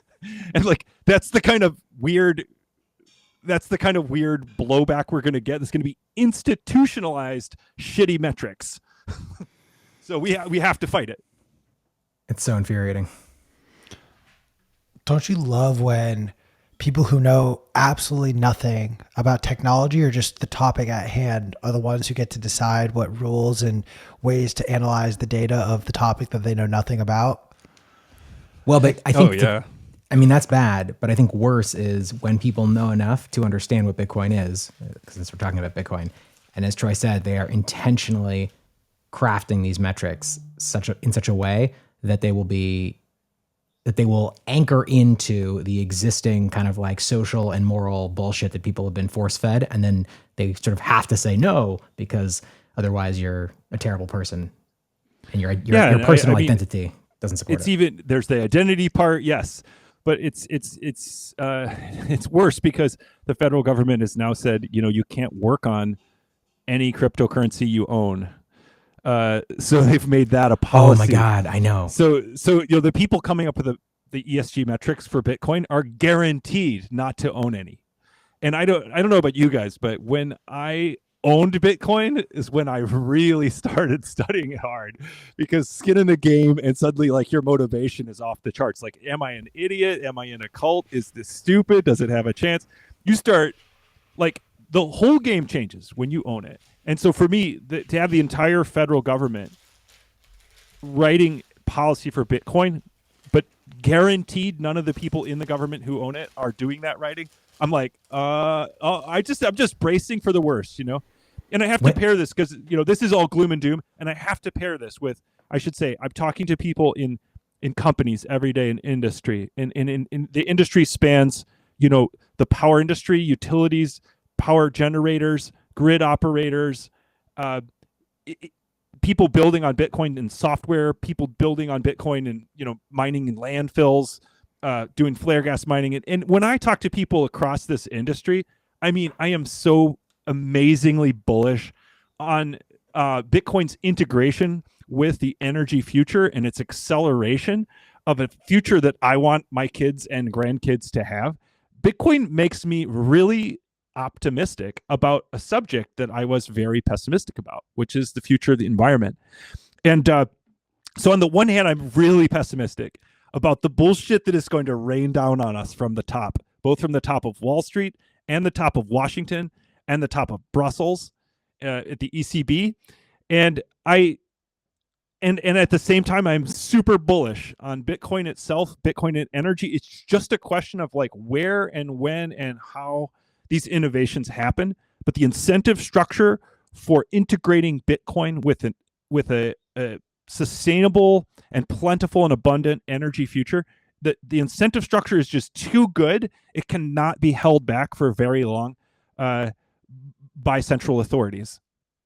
And like, that's the kind of weird, that's the kind of weird blowback we're going to get. It's going to be institutionalized shitty metrics. So we ha- we have to fight it. It's so infuriating. Don't you love when people who know absolutely nothing about technology or just the topic at hand are the ones who get to decide what rules and ways to analyze the data of the topic that they know nothing about? Well, but I think, Oh, the- yeah. I mean, that's bad, but I think worse is when people know enough to understand what Bitcoin is, because since we're talking about Bitcoin. And as Troy said, they are intentionally crafting these metrics such a, in such a way that they will be, that they will anchor into the existing kind of like social and moral bullshit that people have been force fed. And then they sort of have to say no, because otherwise you're a terrible person and your, your, Yeah, your and I- personal I mean, identity doesn't support It's it. even, there's the identity part, yes, but it's it's it's uh, it's worse because the federal government has now said, you know, you can't work on any cryptocurrency you own. Uh, so they've made that a Oh policy. my God, I know. So so you know, the people coming up with the, the E S G metrics for Bitcoin are guaranteed not to own any. And I don't I don't know about you guys, but when I owned Bitcoin is when I really started studying it hard, because skin in the game, and suddenly like your motivation is off the charts. Like, am I an idiot? Am I in a cult? Is this stupid? Does it have a chance? You start like the whole game changes when you own it. And so for me, the, to have the entire federal government writing policy for Bitcoin, but guaranteed none of the people in the government who own it are doing that writing, I'm like, uh, uh I just, I'm just bracing for the worst, you know? And I have to Wait. pair this because, you know, this is all gloom and doom. And I have to pair this with, I should say, I'm talking to people in, in companies every day in industry. And in, in, in the industry spans, you know, the power industry, utilities, power generators, grid operators, uh, it, people building on Bitcoin and software, people building on Bitcoin and, you know, mining in landfills, uh, doing flare gas mining. And, and when I talk to people across this industry, I mean, I am so amazingly bullish on uh, Bitcoin's integration with the energy future and its acceleration of a future that I want my kids and grandkids to have. Bitcoin makes me really optimistic about a subject that I was very pessimistic about, which is the future of the environment. And uh, so on the one hand, I'm really pessimistic about the bullshit that is going to rain down on us from the top, both from the top of Wall Street and the top of Washington and the top of Brussels uh, at the E C B. And I and and at the same time, I'm super bullish on Bitcoin itself, Bitcoin and energy. It's just a question of like where and when and how these innovations happen. But the incentive structure for integrating Bitcoin with an with a, a sustainable and plentiful and abundant energy future, the, the incentive structure is just too good. It cannot be held back for very long uh, by central authorities.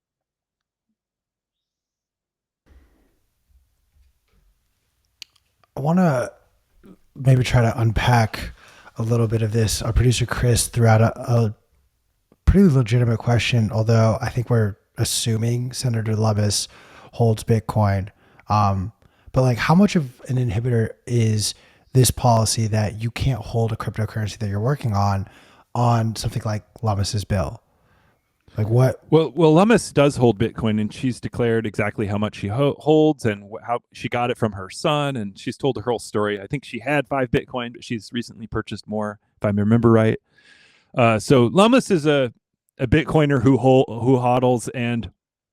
I want to maybe try to unpack a little bit of this. Our producer Chris threw out a, a pretty legitimate question, although I think we're assuming Senator Lummis holds Bitcoin. Um, but like, how much of an inhibitor is this policy that you can't hold a cryptocurrency that you're working on on something like Lummis's bill? Like what? Well, well, Lummis does hold Bitcoin, and she's declared exactly how much she ho- holds and wh- how she got it from her son, and she's told her whole story. I think she had five Bitcoin, but she's recently purchased more, if I remember right. Uh, so Lummis is a, a Bitcoiner who hol- who hodls, and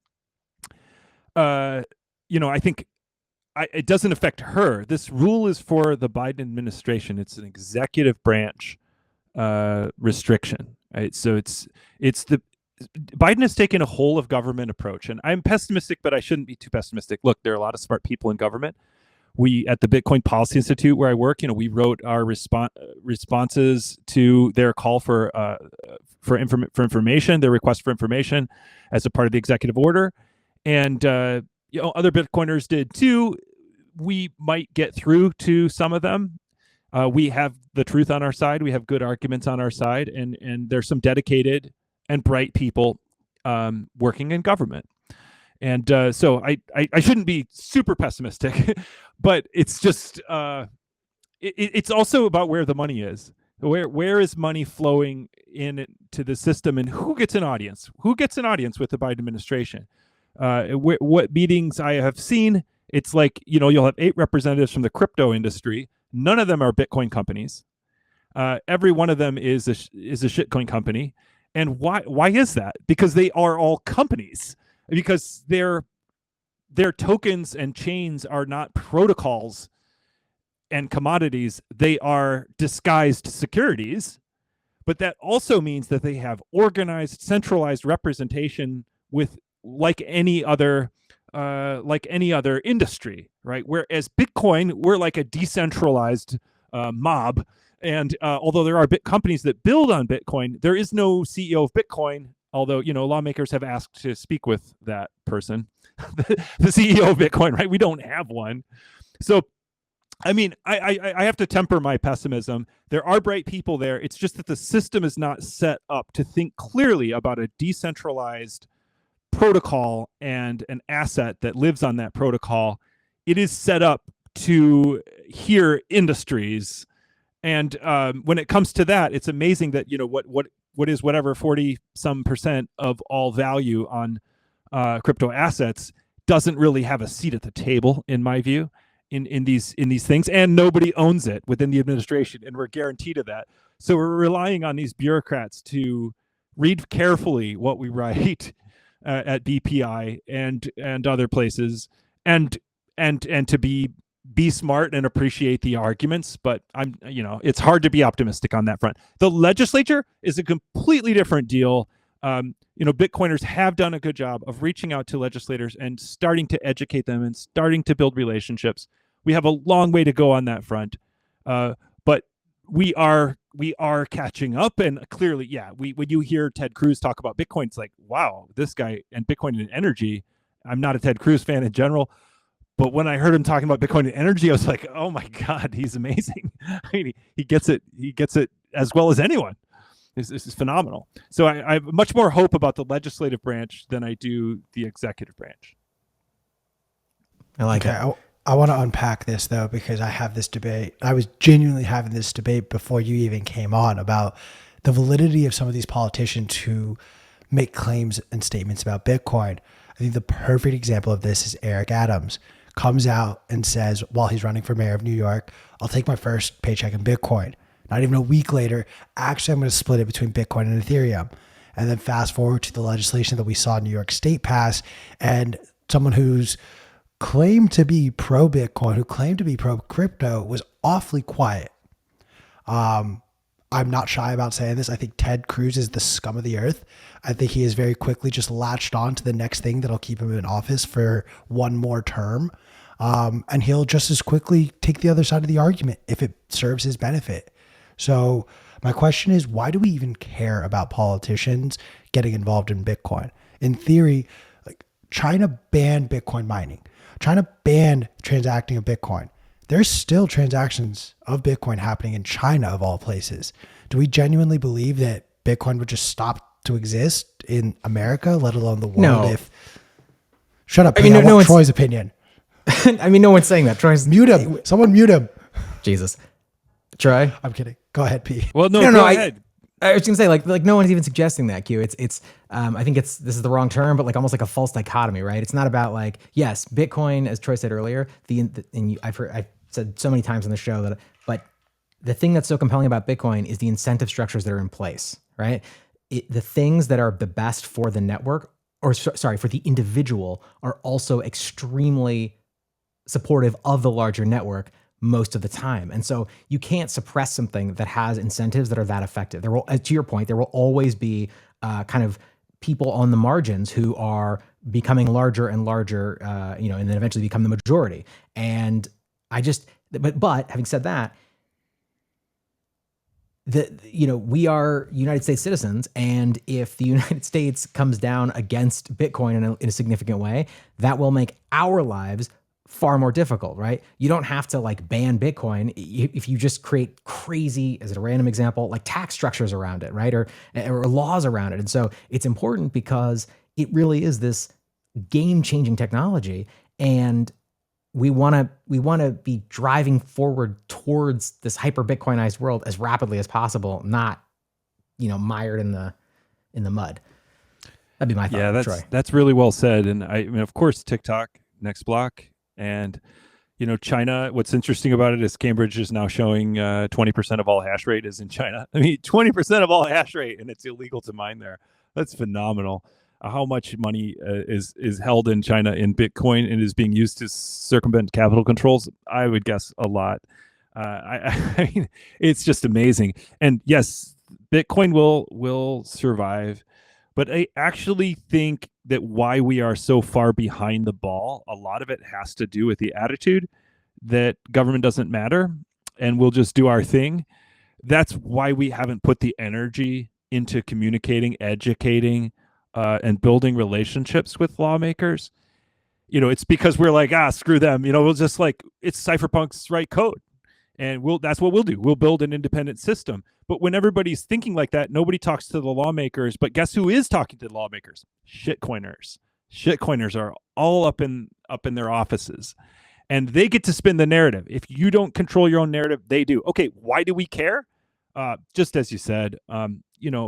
uh, you know, I think I, it doesn't affect her. This rule is for the Biden administration. It's an executive branch uh, restriction, right? So it's it's the Biden has taken a whole of government approach, and I'm pessimistic, but I shouldn't be too pessimistic. Look, there are a lot of smart people in government. We at the Bitcoin Policy Institute, where I work, you know, we wrote our respon- responses to their call for uh, for, inform- for information, their request for information, as a part of the executive order, and uh, you know, other Bitcoiners did too. We might get through to some of them. Uh, we have the truth on our side. We have good arguments on our side, and and there's some dedicated and bright people um, working in government. And uh, so I, I, I shouldn't be super pessimistic, but it's just, uh, it, it's also about where the money is. Where where is money flowing in to the system, and who gets an audience? Who gets an audience with the Biden administration? Uh, wh- what meetings I have seen, it's like, you know, you'll have eight representatives from the crypto industry. None of them are Bitcoin companies. Uh, every one of them is a, is a shitcoin company. And why why is that? Because they are all companies. Because their their tokens and chains are not protocols and commodities. They are disguised securities. But that also means that they have organized, centralized representation with like any other uh, like any other industry, right? Whereas Bitcoin, we're like a decentralized uh, mob. And uh, although there are bit companies that build on Bitcoin, there is no C E O of Bitcoin, although, you know, lawmakers have asked to speak with that person, the, the C E O of Bitcoin, right? We don't have one. So, I mean, I, I, I have to temper my pessimism. There are bright people there. It's just that the system is not set up to think clearly about a decentralized protocol and an asset that lives on that protocol. It is set up to hear industries. And um, when it comes to that, it's amazing that, you know, what what what is whatever forty some percent of all value on uh, crypto assets doesn't really have a seat at the table, in my view, in, in these in these things, and nobody owns it within the administration, and we're guaranteed of that. So we're relying on these bureaucrats to read carefully what we write uh, at B P I and and other places, and and and to be be smart and appreciate the arguments. But I'm, you know, it's hard to be optimistic on that front. The legislature is a completely different deal. Um, you know, Bitcoiners have done a good job of reaching out to legislators and starting to educate them and starting to build relationships. We have a long way to go on that front, uh, but we are we are catching up. And clearly, yeah, we when you hear Ted Cruz talk about Bitcoin, it's like, wow, this guy and Bitcoin and energy. I'm not a Ted Cruz fan in general, but when I heard him talking about Bitcoin and energy, I was like, oh my God, he's amazing. I mean, he, he gets it. He gets it as well as anyone. This, this is phenomenal. So I, I have much more hope about the legislative branch than I do the executive branch. I like Okay, it. I, I want to unpack this though, because I have this debate. I was genuinely having this debate before you even came on about the validity of some of these politicians who make claims and statements about Bitcoin. I think the perfect example of this is Eric Adams. Comes out and says, while he's running for mayor of New York, I'll take my first paycheck in Bitcoin. Not even a week later, actually, I'm going to split it between Bitcoin and Ethereum. And then fast forward to the legislation that we saw New York State pass, and someone who's claimed to be pro Bitcoin, who claimed to be pro crypto, was awfully quiet. Um, I'm not shy about saying this. I think Ted Cruz is the scum of the earth. I think he has very quickly just latched on to the next thing that'll keep him in office for one more term. Um, and he'll just as quickly take the other side of the argument if it serves his benefit. So my question is, why do we even care about politicians getting involved in Bitcoin? In theory, like China banned Bitcoin mining. China banned transacting of Bitcoin. There's still transactions of Bitcoin happening in China, of all places. Do we genuinely believe that Bitcoin would just stop to exist in America, let alone the world? No. If shut up, I mean, Pete, I no- no want one's- Troy's opinion. I mean, no one's saying that. Troy's Mute him. Someone mute him. Jesus. Troy. I'm kidding. Go ahead, Pete. Well, no, No, go no, I- ahead. I was gonna say like like no one's even suggesting that, Q. It's it's um I think it's this is the wrong term, but like almost like a false dichotomy, right? It's not about like, yes, Bitcoin, as Troy said earlier, the, the and you, I've heard I've said so many times on the show that, but the thing that's so compelling about Bitcoin is the incentive structures that are in place, right? It, the things that are the best for the network, or so- sorry, for the individual, are also extremely supportive of the larger network most of the time. And so you can't suppress something that has incentives that are that effective. There will, uh, to your point, there will always be uh, kind of people on the margins who are becoming larger and larger, uh, you know, and then eventually become the majority. And I just, but, but having said that, the, you know, we are United States citizens, and if the United States comes down against Bitcoin in a, in a significant way, that will make our lives far more difficult, right? You don't have to like ban Bitcoin if you just create crazy, as a random example, like tax structures around it, right? Or, or laws around it. And so it's important because it really is this game-changing technology, and we want to we want to be driving forward towards this hyper Bitcoinized world as rapidly as possible, not, you know, mired in the in the mud. That'd be my thought. Yeah, that's Troy. that's really well said. And I, I mean, of course, TikTok, next block, and you know, China. What's interesting about it is Cambridge is now showing uh, twenty percent of all hash rate is in China. I mean, twenty percent of all hash rate, and it's illegal to mine there. That's phenomenal. Uh, how much money uh, is is held in China in Bitcoin and is being used to circumvent capital controls? I would guess a lot. Uh, I, I mean, it's just amazing. And yes, Bitcoin will will survive, but I actually think that why we are so far behind the ball, a lot of it has to do with the attitude that government doesn't matter and we'll just do our thing. That's why we haven't put the energy into communicating, educating, uh, and building relationships with lawmakers. You know, it's because we're like, ah, screw them. You know, we'll just like, it's cypherpunks write code. And we'll that's what we'll do. We'll build an independent system. But when everybody's thinking like that, nobody talks to the lawmakers. But guess who is talking to the lawmakers? Shitcoiners. Shitcoiners are all up in up in their offices. And they get to spin the narrative. If you don't control your own narrative, they do. Okay, why do we care? Uh, just as you said, um, you know,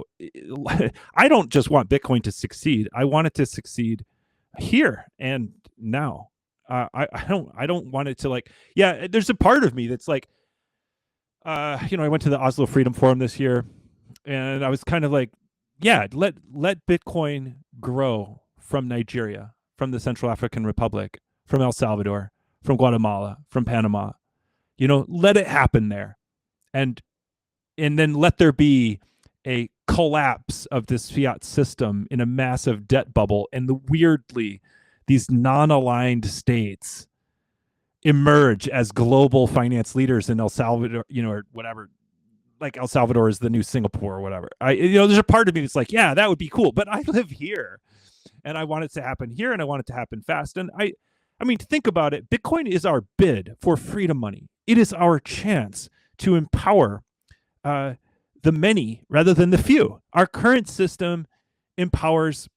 I don't just want Bitcoin to succeed. I want it to succeed here and now. Uh, I, I don't I don't want it to like, yeah, there's a part of me that's like, uh, you know, I went to the Oslo Freedom Forum this year and I was kind of like yeah, let let Bitcoin grow from Nigeria, from the Central African Republic, from El Salvador, from Guatemala, from Panama. You know, let it happen there. And and then let there be a collapse of this fiat system in a massive debt bubble. And the weirdly, these non-aligned states emerge as global finance leaders in El Salvador, you know, or whatever. Like El Salvador is the new Singapore or whatever. I, you know, there's a part of me that's like, yeah, that would be cool. But I live here, and I want it to happen here, and I want it to happen fast. And I, I mean, think about it. Bitcoin is our bid for freedom money. It is our chance to empower uh, the many rather than the few. Our current system empowers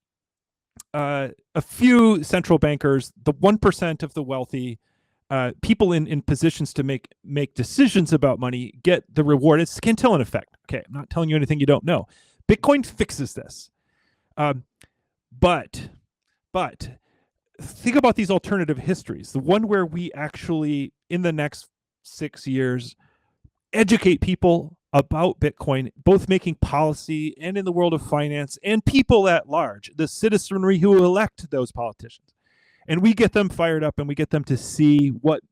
uh, a few central bankers, the one percent of the wealthy. Uh, people in, in positions to make make decisions about money get the reward. It's Cantillon effect. Okay, I'm not telling you anything you don't know. Bitcoin fixes this. Um, but, but think about these alternative histories. The one where we actually, in the next six years, educate people about Bitcoin, both making policy and in the world of finance, and people at large, the citizenry who elect those politicians. And we get them fired up, and we get them to see what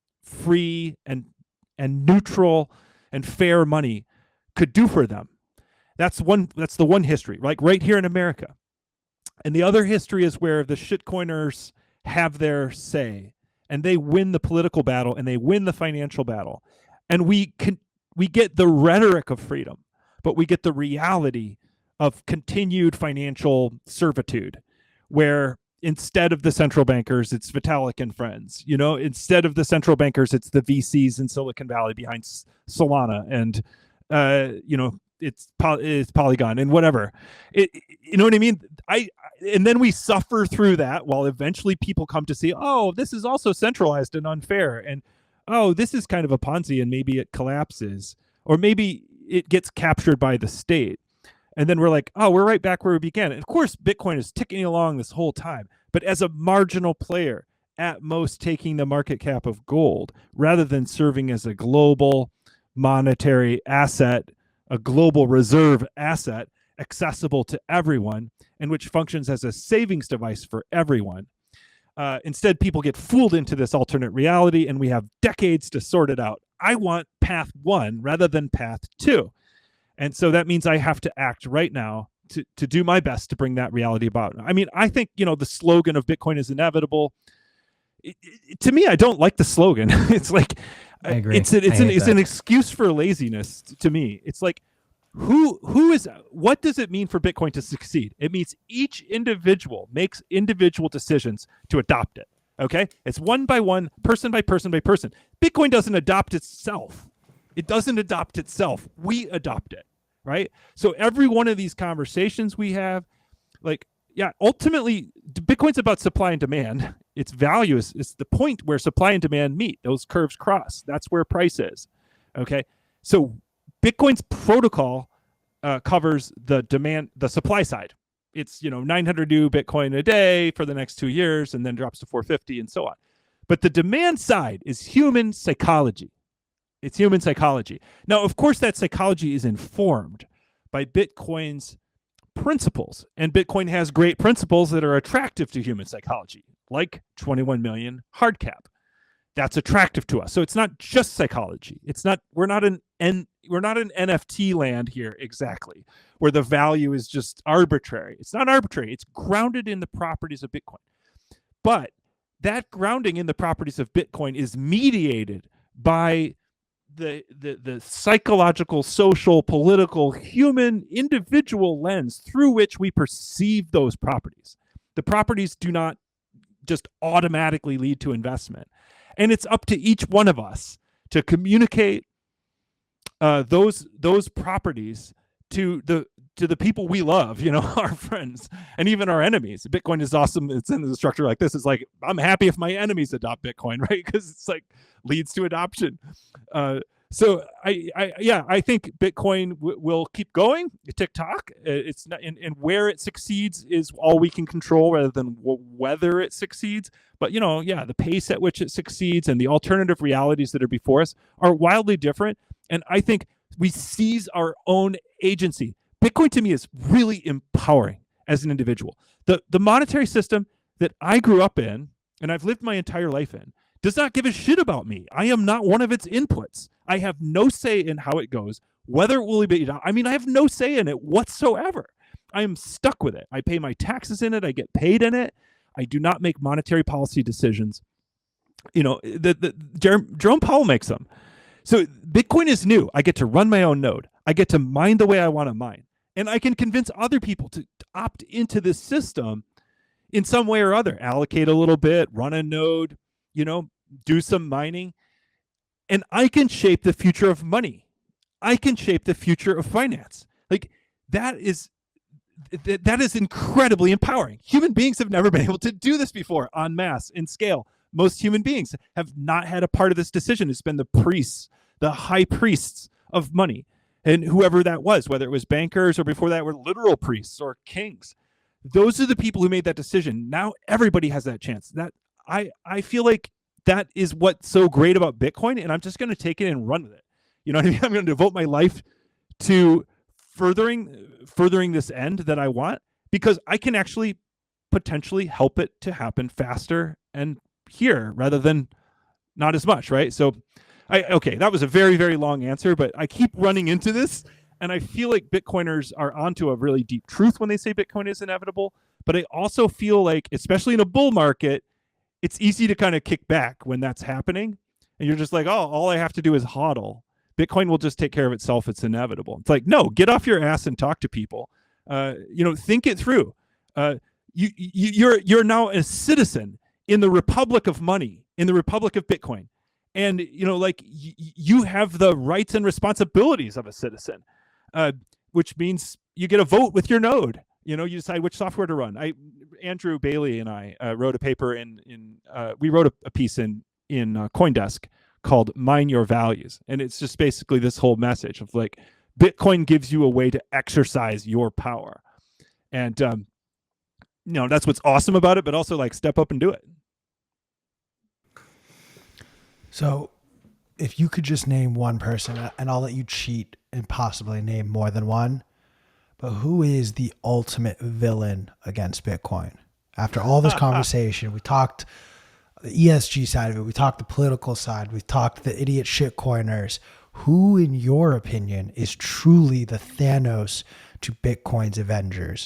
free and and neutral and fair money could do for them. That's one. That's the one history, like right here in America. And the other history is where the shitcoiners have their say, and they win the political battle, and they win the financial battle, and we can we get the rhetoric of freedom, but we get the reality of continued financial servitude, where instead of the central bankers, it's Vitalik and friends. You know, instead of the central bankers, it's the V Cs in Silicon Valley behind Solana, and uh, you know, it's it's Polygon and whatever. It, you know what I mean? I and then we suffer through that while eventually people come to see, oh, this is also centralized and unfair, and oh, this is kind of a Ponzi, and maybe it collapses, or maybe it gets captured by the state. And then we're like, oh, we're right back where we began. And of course, Bitcoin is ticking along this whole time, but as a marginal player, at most taking the market cap of gold, rather than serving as a global monetary asset, a global reserve asset, accessible to everyone, and which functions as a savings device for everyone. Uh, instead, people get fooled into this alternate reality, and we have decades to sort it out. I want path one rather than path two. And so that means I have to act right now to, to do my best to bring that reality about. I mean, I think, you know, the slogan of Bitcoin is inevitable. It, it, to me, I don't like the slogan. It's like, I agree. It's, a, it's, I an, hate it's that. an excuse for laziness to me. It's like, who who is, what does it mean for Bitcoin to succeed? It means each individual makes individual decisions to adopt it. Okay? It's one by one, person by person by person. Bitcoin doesn't adopt itself. It doesn't adopt itself. We adopt it, right? So every one of these conversations we have, like, yeah, ultimately, Bitcoin's about supply and demand. Its value is, is the point where supply and demand meet. Those curves cross. That's where price is, okay? So Bitcoin's protocol uh, covers the demand, the supply side. It's, you know, nine hundred new Bitcoin a day for the next two years, and then drops to four fifty and so on. But the demand side is human psychology. It's human psychology. Now, of course, that psychology is informed by Bitcoin's principles. And Bitcoin has great principles that are attractive to human psychology, like twenty-one million hard cap. That's attractive to us. So it's not just psychology. It's not, we're not an N, we're not an N F T land here exactly, where the value is just arbitrary. It's not arbitrary. It's grounded in the properties of Bitcoin. But that grounding in the properties of Bitcoin is mediated by the, the the psychological, social, political, human, individual lens through which we perceive those properties. The properties do not just automatically lead to investment. And it's up to each one of us to communicate uh, those those properties to the to the people we love, you know, our friends, and even our enemies. Bitcoin is awesome. It's in the structure like this. It's like, I'm happy if my enemies adopt Bitcoin, right? Because it's like leads to adoption. Uh, so I, I, yeah, I think Bitcoin w- will keep going. TikTok, it's not, and, and where it succeeds is all we can control, rather than w- whether it succeeds. But, you know, yeah, the pace at which it succeeds and the alternative realities that are before us are wildly different. And I think we seize our own agency. Bitcoin to me is really empowering as an individual. The, the monetary system that I grew up in and I've lived my entire life in does not give a shit about me. I am not one of its inputs. I have no say in how it goes, whether it will be, I mean, I have no say in it whatsoever. I am stuck with it. I pay my taxes in it. I get paid in it. I do not make monetary policy decisions. You know, the, the Jer- Jerome Powell makes them. So Bitcoin is new. I get to run my own node. I get to mine the way I want to mine. And I can convince other people to, to opt into this system in some way or other, allocate a little bit, run a node, you know, do some mining. And I can shape the future of money. I can shape the future of finance. Like that is, th- that is incredibly empowering. Human beings have never been able to do this before en masse, in scale. Most human beings have not had a part of this decision. It's been the priests, the high priests of money, and whoever that was, whether it was bankers or before that were literal priests or kings. Those are the people who made that decision. Now everybody has that chance. That I, I feel like that is what's so great about Bitcoin, and I'm just going to take it and run with it. You know what I mean? I'm going to devote my life to furthering furthering this end that I want, because I can actually potentially help it to happen faster and here rather than not as much, right? So I okay, that was a very, very long answer, but I keep running into this, and I feel like Bitcoiners are onto a really deep truth when they say Bitcoin is inevitable, but I also feel like, especially in a bull market, it's easy to kind of kick back when that's happening, and you're just like, oh, all I have to do is hodl. Bitcoin will just take care of itself. It's inevitable. It's like, no, get off your ass and talk to people. Uh, you know, think it through. Uh, you, you, you're you're now a citizen in the republic of money, in the republic of Bitcoin. And, you know, like y- you have the rights and responsibilities of a citizen, uh, which means you get a vote with your node. You know, you decide which software to run. I, Andrew Bailey and I uh, wrote a paper in, in uh, we wrote a, a piece in, in uh, CoinDesk called Mine Your Values. And it's just basically this whole message of like, Bitcoin gives you a way to exercise your power. And, um, you know, that's what's awesome about it, but also like step up and do it. So if you could just name one person, and I'll let you cheat and possibly name more than one, but who is the ultimate villain against Bitcoin? After all this conversation, we talked the E S G side of it, we talked the political side, we talked the idiot shitcoiners. Who, in your opinion, is truly the Thanos to Bitcoin's Avengers?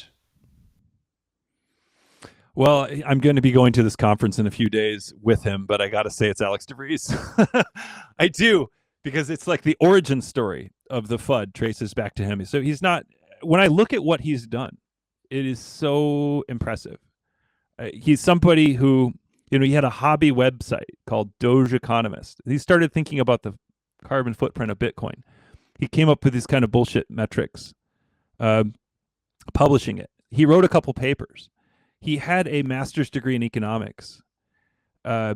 Well, I'm going to be going to this conference in a few days with him, but I got to say it's Alex DeVries. I do, because it's like the origin story of the F U D traces back to him. So he's not, when I look at what he's done, it is so impressive. Uh, he's somebody who, you know, he had a hobby website called Doge Economist. He started thinking about the carbon footprint of Bitcoin. He came up with these kind of bullshit metrics, uh, publishing it. He wrote a couple papers. He had a master's degree in economics. Uh,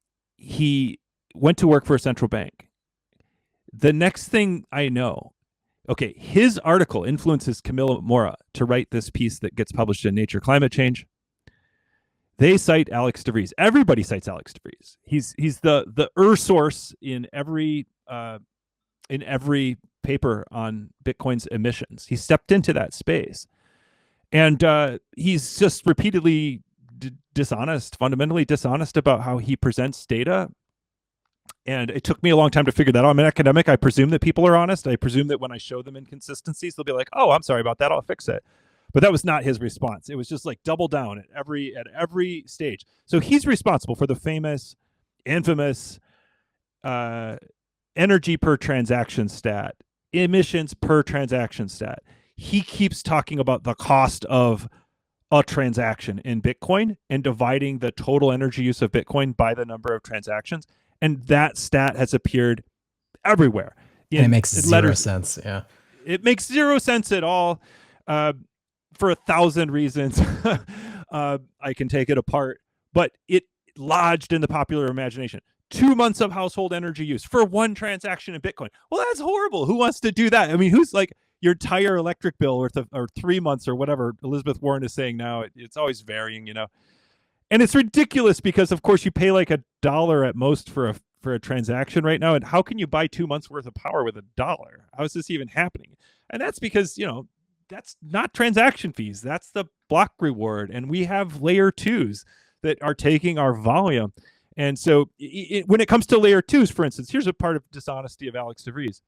he went to work for a central bank. The next thing I know, okay, his article influences Camilla Mora to write this piece that gets published in Nature Climate Change. They cite Alex DeVries. Everybody cites Alex DeVries. He's he's the the er source in every uh, in every paper on Bitcoin's emissions. He stepped into that space. And uh, he's just repeatedly d- dishonest, fundamentally dishonest about how he presents data. And it took me a long time to figure that out. I'm an academic. I presume that people are honest. I presume that when I show them inconsistencies, they'll be like, oh, I'm sorry about that. I'll fix it. But that was not his response. It was just like double down at every at every stage. So he's responsible for the famous, infamous uh, energy per transaction stat, emissions per transaction stat. He keeps talking about the cost of a transaction in Bitcoin and dividing the total energy use of Bitcoin by the number of transactions. And that stat has appeared everywhere. And it makes zero letters. sense. Yeah. It makes zero sense at all uh, for a thousand reasons. uh, I can take it apart, but it lodged in the popular imagination. Two months of household energy use for one transaction in Bitcoin. Well, that's horrible. Who wants to do that? I mean, who's like, your entire electric bill or, th- or three months or whatever Elizabeth Warren is saying now, it, it's always varying, you know. And it's ridiculous because, of course, you pay like a dollar at most for a for a transaction right now. And how can you buy two months worth of power with a dollar? How is this even happening? And that's because, you know, that's not transaction fees. That's the block reward. And we have layer twos that are taking our volume. And so it, when it comes to layer twos, for instance, here's a part of dishonesty of Alex DeVries.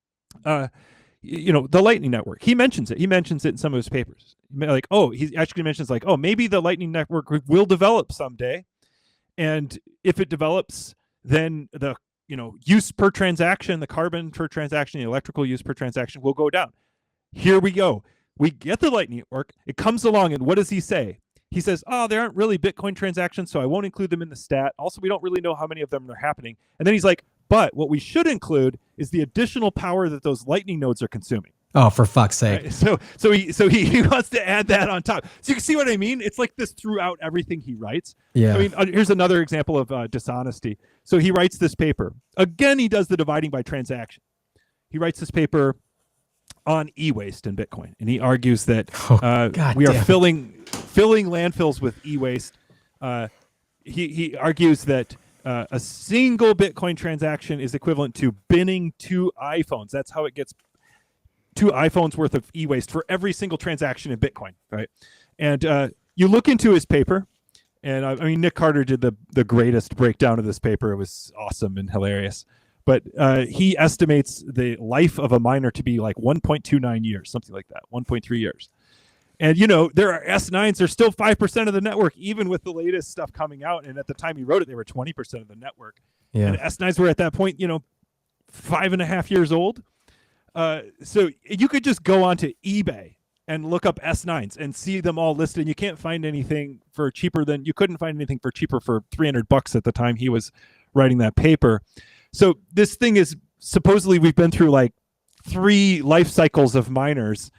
Uh, you know, the Lightning Network, he mentions it. He mentions it in some of his papers. Like, oh, he actually mentions like, oh, maybe the Lightning Network will develop someday. And if it develops, then the, you know, use per transaction, the carbon per transaction, the electrical use per transaction will go down. Here we go. We get the Lightning Network. It comes along, and what does he say? He says, oh, there aren't really Bitcoin transactions, so I won't include them in the stat. Also, we don't really know how many of them are happening. And then he's like, but what we should include is the additional power that those Lightning nodes are consuming. Oh, for fuck's sake. Right? So so he so he, he wants to add that on top. So you can see what I mean? It's like this throughout everything he writes. Yeah. I mean, uh, here's another example of uh, dishonesty. So he writes this paper. Again, he does the dividing by transaction. He writes this paper on e-waste and Bitcoin, and he argues that uh, oh, we are damn. filling filling landfills with e-waste. Uh, he he argues that uh, a single Bitcoin transaction is equivalent to binning two iPhones. That's how it gets two iPhones worth of e-waste for every single transaction in Bitcoin, right? And uh, you look into his paper, and uh, I mean, Nick Carter did the the greatest breakdown of this paper. It was awesome and hilarious. But uh, he estimates the life of a miner to be like one point two nine years, something like that, one point three years. And, you know, there are S nines, they're still five percent of the network, even with the latest stuff coming out. And at the time he wrote it, they were twenty percent of the network. Yeah. And S nines were at that point, you know, five and a half years old. Uh, so you could just go onto eBay and look up S nines and see them all listed. And you can't find anything for cheaper than, you couldn't find anything for cheaper for three hundred bucks at the time he was writing that paper. So this thing is supposedly we've been through like three life cycles of miners,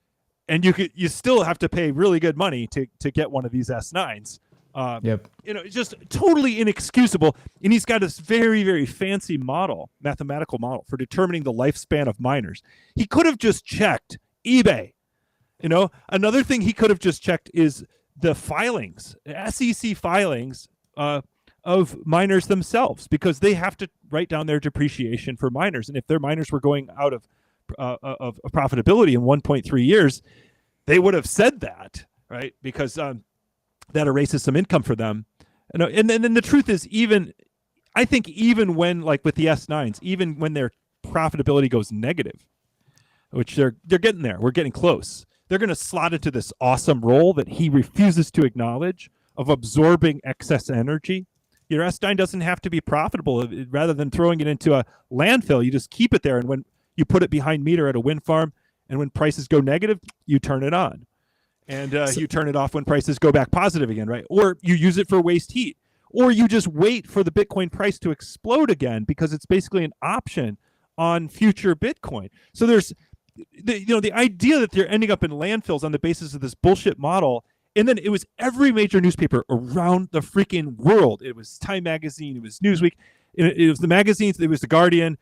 and you could you still have to pay really good money to to get one of these S nines. Uh, Yep. You know, it's just totally inexcusable. And he's got this very, very fancy model, mathematical model for determining the lifespan of miners. He could have just checked eBay. You know, another thing he could have just checked is the filings, S E C filings. Uh, of miners themselves, because they have to write down their depreciation for miners. And if their miners were going out of uh, of, of profitability in one point three years, they would have said that, right? Because um, that erases some income for them. And, and, and then the truth is, even, I think even when, like with the S nines, even when their profitability goes negative, which they're they're getting there, we're getting close, they're going to slot into this awesome role that he refuses to acknowledge of absorbing excess energy. Your S nine doesn't have to be profitable. Rather than throwing it into a landfill, you just keep it there. And when you put it behind meter at a wind farm, and when prices go negative, you turn it on. And uh, so, you turn it off when prices go back positive again, right? Or you use it for waste heat. Or you just wait for the Bitcoin price to explode again, because it's basically an option on future Bitcoin. So there's, the, you know, the idea that they're ending up in landfills on the basis of this bullshit model. And then it was every major newspaper around the freaking world. It was Time Magazine. It was Newsweek. It, it was the magazines. It was The Guardian.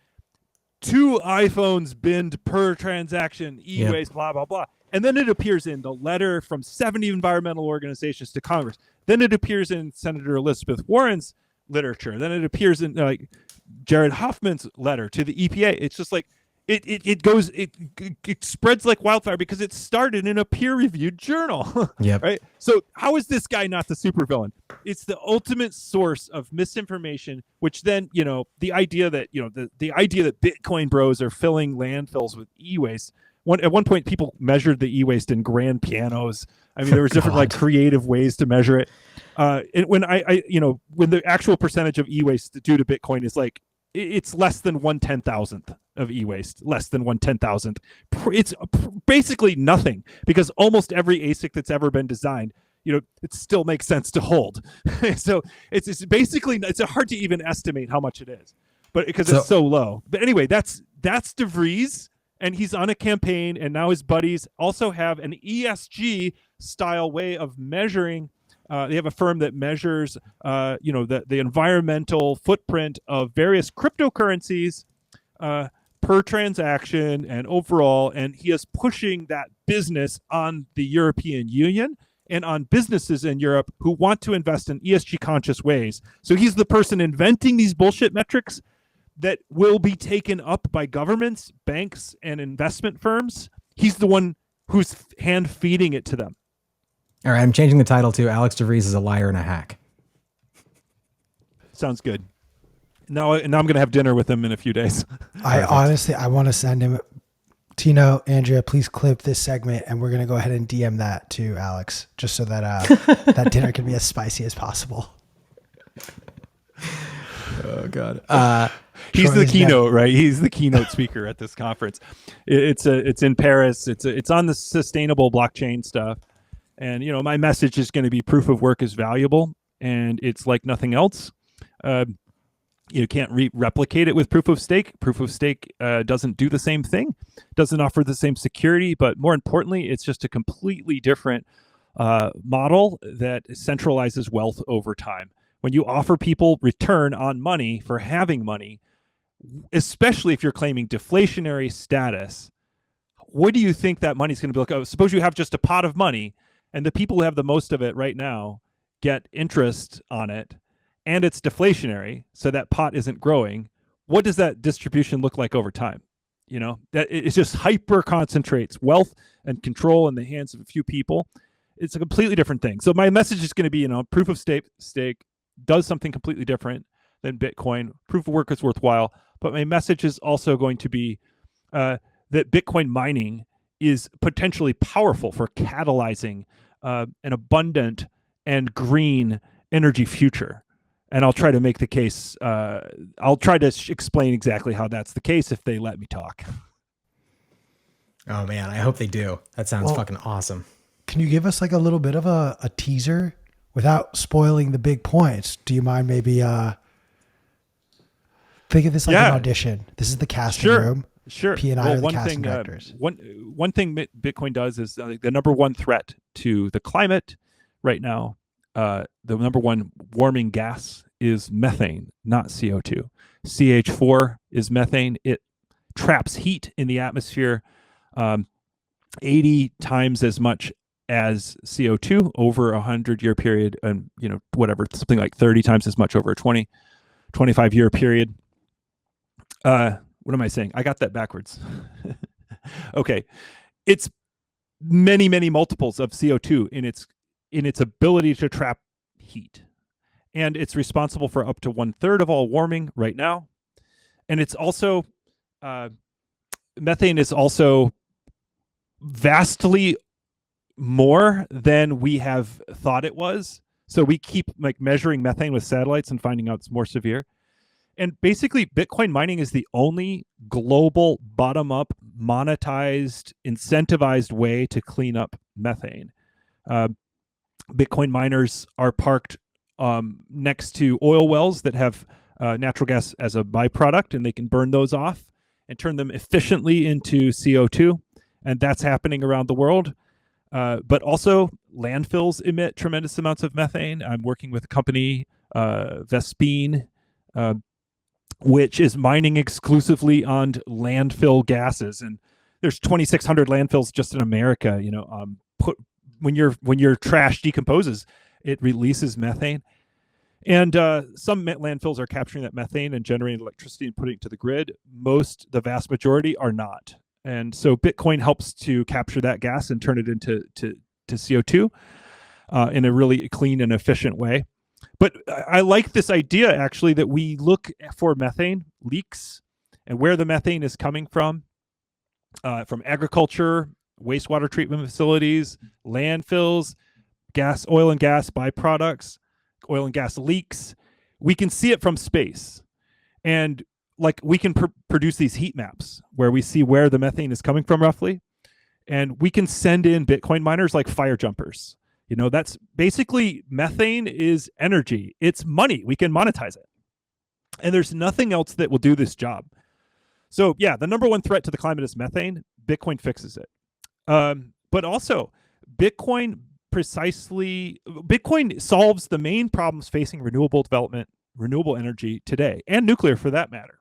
Two iPhones binned per transaction, e-waste, yep. blah, blah, blah. And then it appears in the letter from seventy environmental organizations to Congress. Then it appears in Senator Elizabeth Warren's literature. Then it appears in like Jared Hoffman's letter to the E P A. It's just like, It, it it goes it, it spreads like wildfire because it started in a peer-reviewed journal. Yep. Right. So how is this guy not the supervillain? It's the ultimate source of misinformation, which then, you know, the idea that, you know, the, the idea that Bitcoin bros are filling landfills with e-waste. One at one point people measured the e-waste in grand pianos. I mean, there was different like creative ways to measure it. Uh, and when I, I you know, when the actual percentage of e-waste due to Bitcoin is like, it's less than one ten thousandth of e-waste, less than one ten thousandth. It's basically nothing, because almost every A S I C that's ever been designed, you know, it still makes sense to hold. So it's, it's basically, it's hard to even estimate how much it is, but because so, it's so low. But anyway, that's that's DeVries, and he's on a campaign, and now his buddies also have an E S G style way of measuring. Uh, they have a firm that measures, uh, you know, the, the environmental footprint of various cryptocurrencies uh, per transaction and overall. And he is pushing that business on the European Union and on businesses in Europe who want to invest in E S G conscious ways. So he's the person inventing these bullshit metrics that will be taken up by governments, banks, and investment firms. He's the one who's hand feeding it to them. All right, I'm changing the title to Alex DeVries is a liar and a hack. Sounds good. Now, now I'm going to have dinner with him in a few days. I Perfect. honestly, I want to send him, Tino, Andrea, please clip this segment, and we're going to go ahead and D M that to Alex, just so that uh, that dinner can be as spicy as possible. Oh God. Uh, He's Troy the is keynote, right? He's the keynote speaker at this conference. It, it's a, it's in Paris. It's a, it's on the sustainable blockchain stuff, and you know, my message is going to be proof of work is valuable, and it's like nothing else. Uh, you can't re- replicate it with proof of stake. Proof of stake uh, doesn't do the same thing, doesn't offer the same security, but more importantly, it's just a completely different uh, model that centralizes wealth over time. When you offer people return on money for having money, especially if you're claiming deflationary status, what do you think that money's going to be like? Oh, suppose you have just a pot of money, and the people who have the most of it right now get interest on it, and it's deflationary, so that pot isn't growing. What does that distribution look like over time? You know, that it just hyper concentrates wealth and control in the hands of a few people. It's a completely different thing. So my message is going to be, you know, proof of stake stake does something completely different than Bitcoin. Proof of work is worthwhile, but my message is also going to be uh, that Bitcoin mining is potentially powerful for catalyzing uh, an abundant and green energy future. And I'll try to make the case. Uh, I'll try to sh- explain exactly how that's the case if they let me talk. oh man, I hope they do. That sounds Well, fucking awesome. Can you give us like a little bit of a, a teaser without spoiling the big points? Do you mind maybe uh, think of this like Yeah. an audition? This is the casting Sure. room. Sure. P and I well, are the one casting thing, uh, directors. one one thing Bit- Bitcoin does is uh, the number one threat to the climate right now. Uh, the number one warming gas is methane, not C O two. C H four is methane. It traps heat in the atmosphere, um, eighty times as much as C O two over a hundred year period, and you know whatever, something like thirty times as much over a twenty, twenty-five year period. Uh, what am I saying? I got that backwards. Okay, it's many many multiples of C O two in its in its ability to trap heat. And it's responsible for up to one third of all warming right now. And it's also, uh, methane is also vastly more than we have thought it was. So we keep like measuring methane with satellites and finding out it's more severe. And basically, Bitcoin mining is the only global bottom-up, monetized, incentivized way to clean up methane. Uh, Bitcoin miners are parked um, next to oil wells that have uh, natural gas as a byproduct, and they can burn those off and turn them efficiently into C O two. And that's happening around the world. Uh, but also, landfills emit tremendous amounts of methane. I'm working with a company, uh, Vespine, uh, which is mining exclusively on landfill gases. And there's twenty-six hundred landfills just in America. You know, um, put, when your when your trash decomposes, it releases methane. And uh, some landfills are capturing that methane and generating electricity and putting it to the grid. Most, the vast majority, are not. And so Bitcoin helps to capture that gas and turn it into to, to C O two uh, in a really clean and efficient way. But I, I like this idea, actually, that we look for methane leaks and where the methane is coming from, uh, from agriculture, wastewater treatment facilities, landfills, gas, oil and gas byproducts, oil and gas leaks. We can see it from space. And like we can pr- produce these heat maps where we see where the methane is coming from roughly. And we can send in Bitcoin miners like fire jumpers. You know, that's basically methane is energy. It's money. We can monetize it. And there's nothing else that will do this job. So yeah, the number one threat to the climate is methane. Bitcoin fixes it. Um, but also Bitcoin precisely, Bitcoin solves the main problems facing renewable development, renewable energy today, and nuclear for that matter.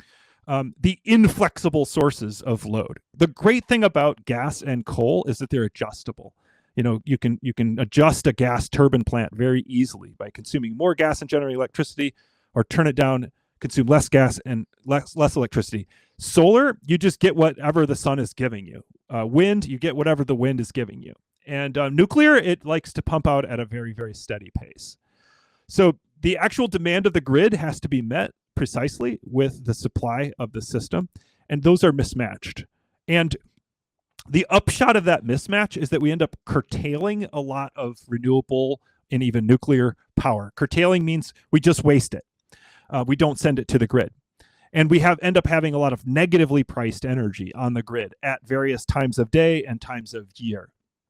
Um, the inflexible sources of load. The great thing about gas and coal is that they're adjustable. You know, you can you can adjust a gas turbine plant very easily by consuming more gas and generating electricity, or turn it down, consume less gas and less less electricity. Solar, you just get whatever the sun is giving you. Uh, wind, you get whatever the wind is giving you. And uh, nuclear, it likes to pump out at a very, very steady pace. So the actual demand of the grid has to be met precisely with the supply of the system, and those are mismatched. And the upshot of that mismatch is that we end up curtailing a lot of renewable and even nuclear power. Curtailing means we just waste it. Uh, we don't send it to the grid. And we have end up having a lot of negatively priced energy on the grid at various times of day and times of year.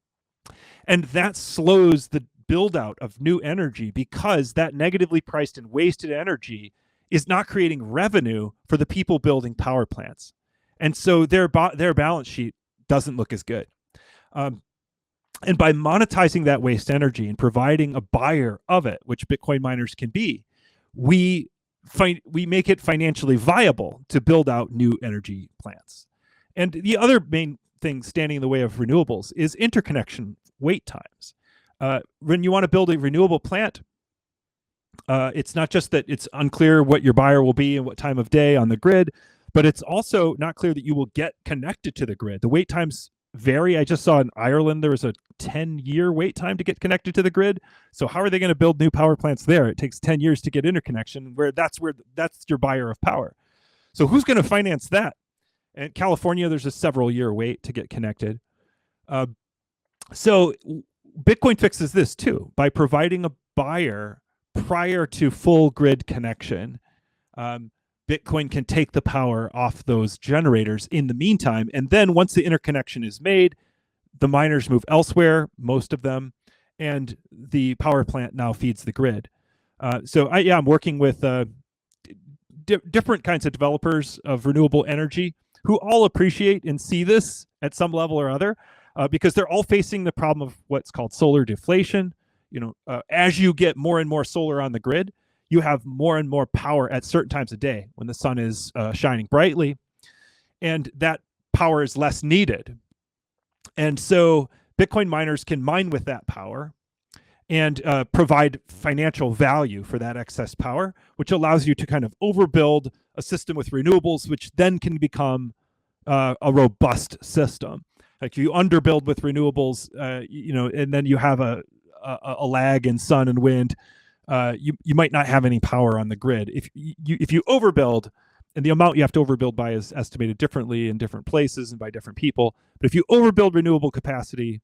And that slows the build out of new energy because that negatively priced and wasted energy is not creating revenue for the people building power plants. And so their, their balance sheet doesn't look as good. Um, and by monetizing that waste energy and providing a buyer of it, which Bitcoin miners can be, we find we make it financially viable to build out new energy plants. And the other main thing standing in the way of renewables is interconnection wait times. Uh, when you want to build a renewable plant, uh, it's not just that it's unclear what your buyer will be and what time of day on the grid, but it's also not clear that you will get connected to the grid. The wait times vary. I just saw in Ireland there was a ten-year wait time to get connected to the grid. So how are they going to build new power plants there? It takes ten years to get interconnection, where that's where that's your buyer of power. So who's going to finance that? In California, there's a several-year wait to get connected. Uh, so Bitcoin fixes this too by providing a buyer prior to full grid connection. Um, Bitcoin can take the power off those generators in the meantime. And then once the interconnection is made, the miners move elsewhere, most of them, and the power plant now feeds the grid. Uh, so I, yeah, I'm working with uh, di different kinds of developers of renewable energy who all appreciate and see this at some level or other, uh, because they're all facing the problem of what's called solar deflation. You know, uh, as you get more and more solar on the grid, you have more and more power at certain times of day when the sun is uh, shining brightly, and that power is less needed. And so Bitcoin miners can mine with that power and uh, provide financial value for that excess power, which allows you to kind of overbuild a system with renewables, which then can become uh, a robust system. Like you underbuild with renewables, uh, you know, and then you have a, a, a lag in sun and wind. Uh, you you might not have any power on the grid. If you if you overbuild, and the amount you have to overbuild by is estimated differently in different places and by different people. But if you overbuild renewable capacity,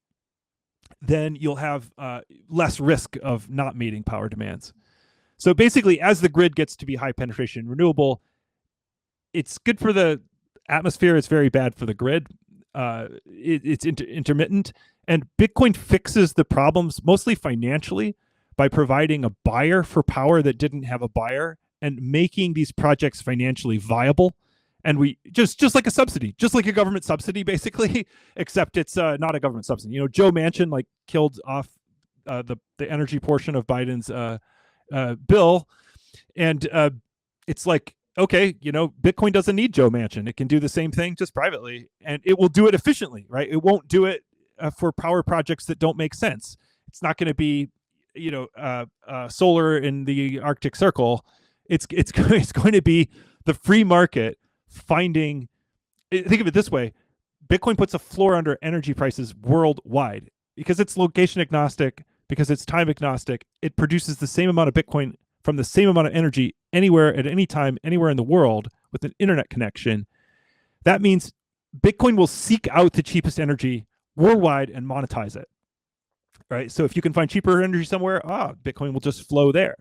then you'll have uh, less risk of not meeting power demands. So basically, as the grid gets to be high penetration renewable, it's good for the atmosphere. It's very bad for the grid. Uh, it, it's inter intermittent, and Bitcoin fixes the problems mostly financially by providing a buyer for power that didn't have a buyer and making these projects financially viable. And we just just like a subsidy, just like a government subsidy, basically, except it's uh, not a government subsidy. You know, Joe Manchin like killed off uh, the the energy portion of Biden's uh, uh, bill, and uh, it's like, okay, you know, Bitcoin doesn't need Joe Manchin. It can do the same thing just privately, and it will do it efficiently, right? It won't do it uh, for power projects that don't make sense. It's not going to be, you know, uh, uh, solar in the Arctic Circle. It's it's it's going to be the free market finding. Think of it this way: Bitcoin puts a floor under energy prices worldwide because it's location agnostic, because it's time agnostic. It produces the same amount of Bitcoin from the same amount of energy anywhere at any time, anywhere in the world with an internet connection. That means Bitcoin will seek out the cheapest energy worldwide and monetize it. Right. So if you can find cheaper energy somewhere, ah, Bitcoin will just flow there.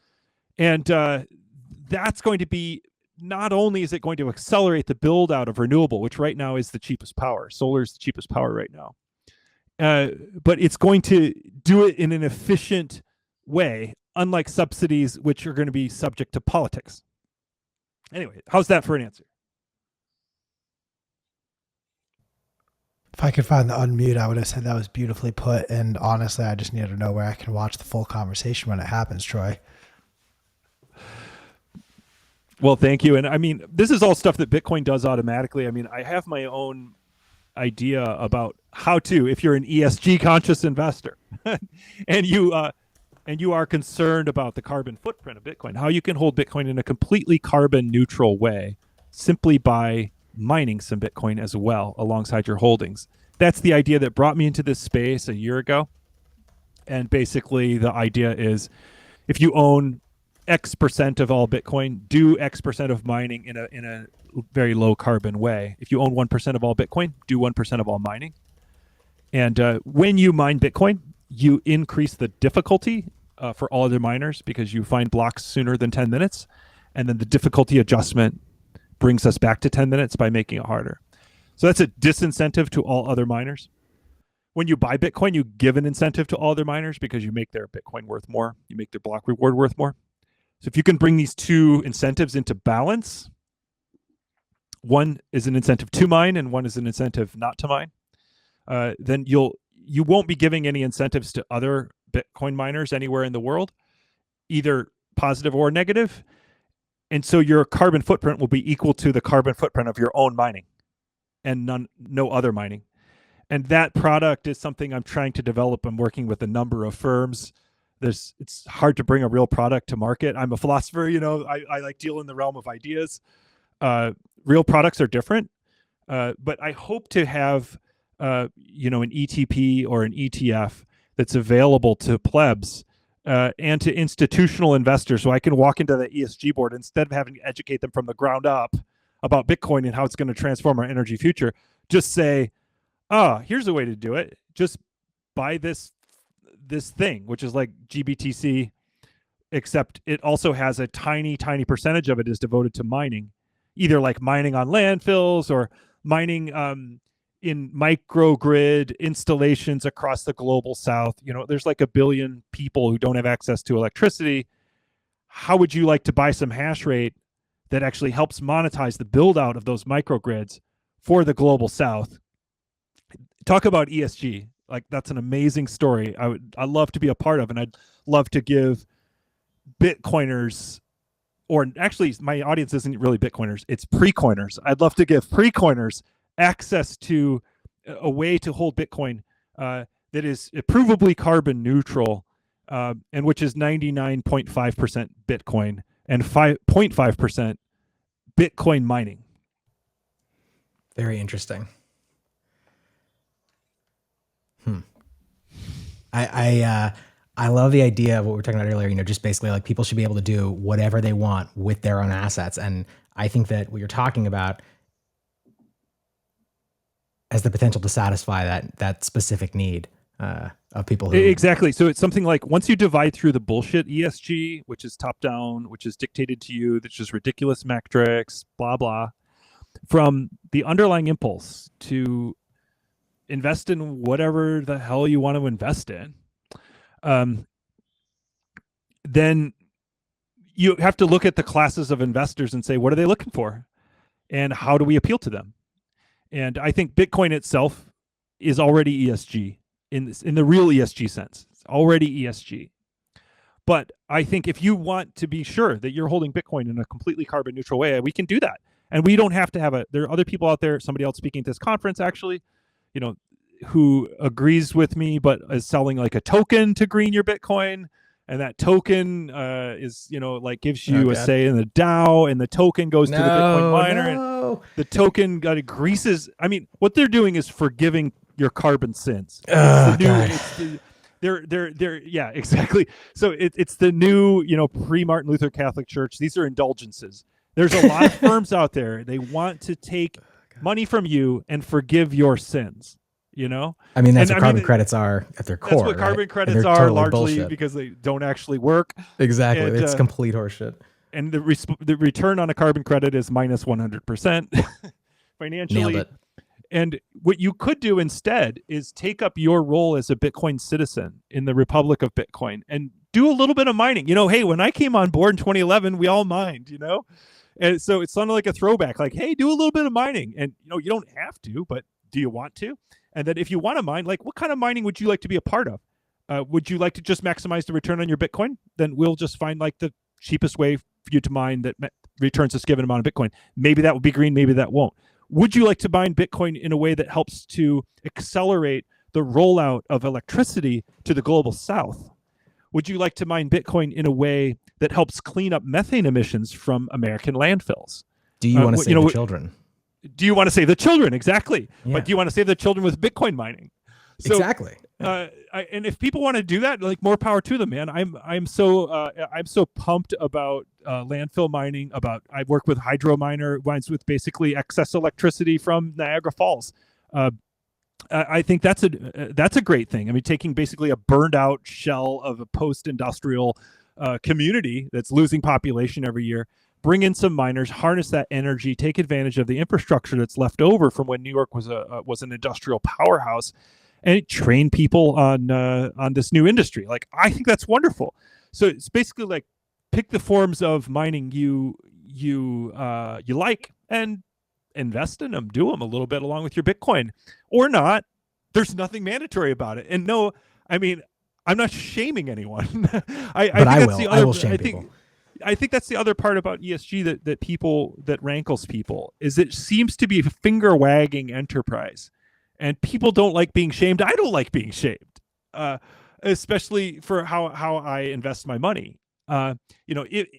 And uh, that's going to be, not only is it going to accelerate the build out of renewable, which right now is the cheapest power. Solar is the cheapest power right now. Uh, but it's going to do it in an efficient way, unlike subsidies, which are going to be subject to politics. Anyway, how's that for an answer? If I could find the unmute, I would have said that was beautifully put. And honestly, I just need to know where I can watch the full conversation when it happens, Troy. Well, thank you. And I mean, this is all stuff that Bitcoin does automatically. I mean, I have my own idea about how to, if you're an E S G conscious investor and you uh, and you are concerned about the carbon footprint of Bitcoin, how you can hold Bitcoin in a completely carbon neutral way simply by mining some Bitcoin as well alongside your holdings. That's the idea that brought me into this space a year ago. And basically the idea is if you own X percent of all Bitcoin, do X percent of mining in a in a very low carbon way. If you own one percent of all Bitcoin, do one percent of all mining. And uh, when you mine Bitcoin, you increase the difficulty uh, for all other miners because you find blocks sooner than ten minutes. And then the difficulty adjustment brings us back to ten minutes by making it harder. So that's a disincentive to all other miners. When you buy Bitcoin, you give an incentive to all other miners because you make their Bitcoin worth more. You make their block reward worth more. So if you can bring these two incentives into balance, one is an incentive to mine and one is an incentive not to mine, uh, then you'll you won't be giving any incentives to other Bitcoin miners anywhere in the world, either positive or negative. And so your carbon footprint will be equal to the carbon footprint of your own mining and none, no other mining. And that product is something I'm trying to develop. I'm working with a number of firms. There's, it's hard to bring a real product to market. I'm a philosopher, you know, I, I like deal in the realm of ideas. Uh, real products are different, uh, but I hope to have, uh, you know, an E T P or an E T F that's available to plebs uh, and to institutional investors, so I can walk into the E S G board instead of having to educate them from the ground up about Bitcoin and how it's going to transform our energy future. Just say, oh, here's a way to do it. Just buy this this thing, which is like G B T C, except it also has a tiny, tiny percentage of it is devoted to mining, either like mining on landfills or mining um, in microgrid installations across the global south. You know, there's like a billion people who don't have access to electricity. How would you like to buy some hash rate that actually helps monetize the build out of those microgrids for the global south? Talk about E S G. Like, that's an amazing story. I would, I love to be a part of, and I'd love to give Bitcoiners, or actually my audience isn't really Bitcoiners, it's pre-coiners. I'd love to give pre-coiners access to a way to hold Bitcoin uh, that is provably carbon neutral, uh, and which is ninety-nine point five percent Bitcoin and five point five percent Bitcoin mining. Very interesting. Hmm. I I uh, I love the idea of what we were talking about earlier. You know, just basically like people should be able to do whatever they want with their own assets, and I think that what you're talking about has the potential to satisfy that that specific need uh, of people who exactly. So it's something like, once you divide through the bullshit E S G, which is top down, which is dictated to you, that's just ridiculous metrics, blah blah, from the underlying impulse to invest in whatever the hell you want to invest in, um, then you have to look at the classes of investors and say, what are they looking for? And how do we appeal to them? And I think Bitcoin itself is already E S G in this, in the real E S G sense. It's already E S G. But I think if you want to be sure that you're holding Bitcoin in a completely carbon neutral way, we can do that. And we don't have to have a, there are other people out there, somebody else speaking at this conference actually, you know, who agrees with me, but is selling like a token to green your Bitcoin. And that token uh, is, you know, like gives you oh, a God. say in the DAO, and the token goes no, to the Bitcoin miner. No. And the token got greases. I mean, what they're doing is forgiving your carbon sins. Oh, It's the new- God. it's the- they're, they're, they're, yeah, exactly. So it, it's the new, you know, pre-Martin Luther Catholic Church. These are indulgences. There's a lot of firms out there. They want to take money from you and forgive your sins. You know, I mean, that's And, what I carbon mean, credits are at their core. that's what right? carbon And credits they're are, totally largely bullshit. because they don't actually work. Exactly. and, It's uh, complete horseshit. And the res- the return on a carbon credit is minus one hundred percent financially. Nailed it. And what you could do instead is take up your role as a Bitcoin citizen in the Republic of Bitcoin and do a little bit of mining. You know, hey, when I came on board in twenty eleven, we all mined, you know? And so it's sort of like a throwback, like, hey, do a little bit of mining. And, you know, you don't have to, but do you want to? And then if you want to mine, like, what kind of mining would you like to be a part of? Uh, would you like to just maximize the return on your Bitcoin? Then we'll just find like the cheapest way for you to mine that ma- returns this given amount of Bitcoin. Maybe that will be green, maybe that won't. Would you like to mine Bitcoin in a way that helps to accelerate the rollout of electricity to the global south? Would you like to mine Bitcoin in a way that helps clean up methane emissions from American landfills? Do you Uh, want to wh- save you know, the wh- children? do you want to save the children? Exactly. Yeah. But do you want to save the children with Bitcoin mining? So, exactly. Uh, I, and if people want to do that, like, more power to them, man. I'm I'm so uh, I'm so pumped about uh, landfill mining. About I work with hydro miner mines with basically excess electricity from Niagara Falls. Uh, I I think that's a uh, that's a great thing. I mean, taking basically a burned out shell of a post-industrial uh, community that's losing population every year, bring in some miners, harness that energy, take advantage of the infrastructure that's left over from when New York was a uh, was an industrial powerhouse, and train people on uh, on this new industry. Like, I think that's wonderful. So it's basically like, pick the forms of mining you you uh, you like and invest in them. Do them a little bit along with your Bitcoin, or not. There's nothing mandatory about it. And no, I mean, I'm not shaming anyone. I, But I, I think that's will. the I other, will shame I think, people. I think that's the other part about E S G that that people that rankles people is it seems to be a finger wagging enterprise. And people don't like being shamed. I don't like being shamed, uh, especially for how, how I invest my money. Uh, you know, if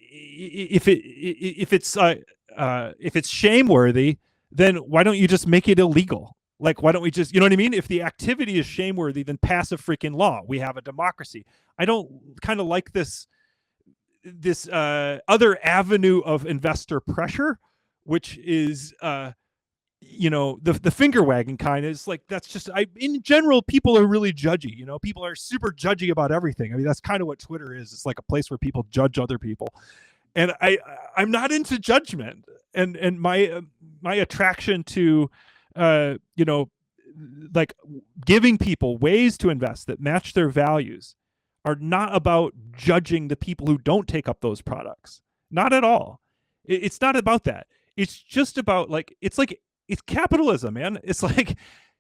if it if it's uh, uh, if it's shameworthy, then why don't you just make it illegal? Like, why don't we just, you know what I mean? If the activity is shameworthy, then pass a freaking law. We have a democracy. I don't kind of like this this uh, other avenue of investor pressure, which is. Uh, you know, the the finger wagging kind is like, that's just, I in general, people are really judgy. You know, people are super judgy about everything. I mean, that's kind of what Twitter is. It's like a place where people judge other people, and I I'm not into judgment. And and my uh, my attraction to uh you know, like, giving people ways to invest that match their values are not about judging the people who don't take up those products. Not at all. It, it's not about that. It's just about, like, it's like it's capitalism, man. It's like,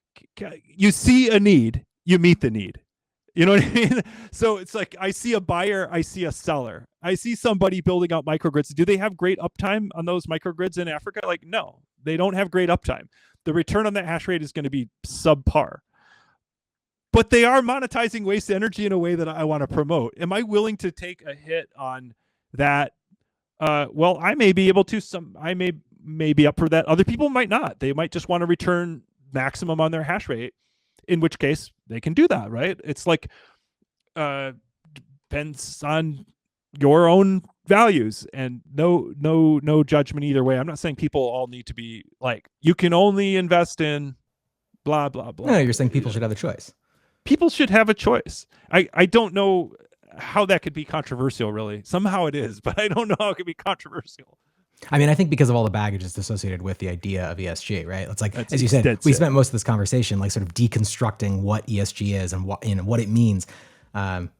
you see a need, you meet the need. You know what I mean? So it's like, I see a buyer, I see a seller. I see somebody building out microgrids. Do they have great uptime on those microgrids in Africa? Like, no, they don't have great uptime. The return on that hash rate is going to be subpar. But they are monetizing waste energy in a way that I want to promote. Am I willing to take a hit on that? Uh, well, I may be able to. Some I may may be up for that. Other people might not. They might just want to return maximum on their hash rate, in which case they can do that, right? It's like, uh, depends on your own values, and no no no judgment either way. I'm not saying people all need to be like, you can only invest in blah blah blah. No, you're saying people should have the choice. People should have a choice. I I don't know how that could be controversial, really. Somehow it is, but I don't know how it could be controversial. I mean, I think because of all the baggage that's associated with the idea of E S G, right? It's like, That's, as you said, that's we it. spent most of this conversation like sort of deconstructing what E S G is and what, you know, what it means. Um,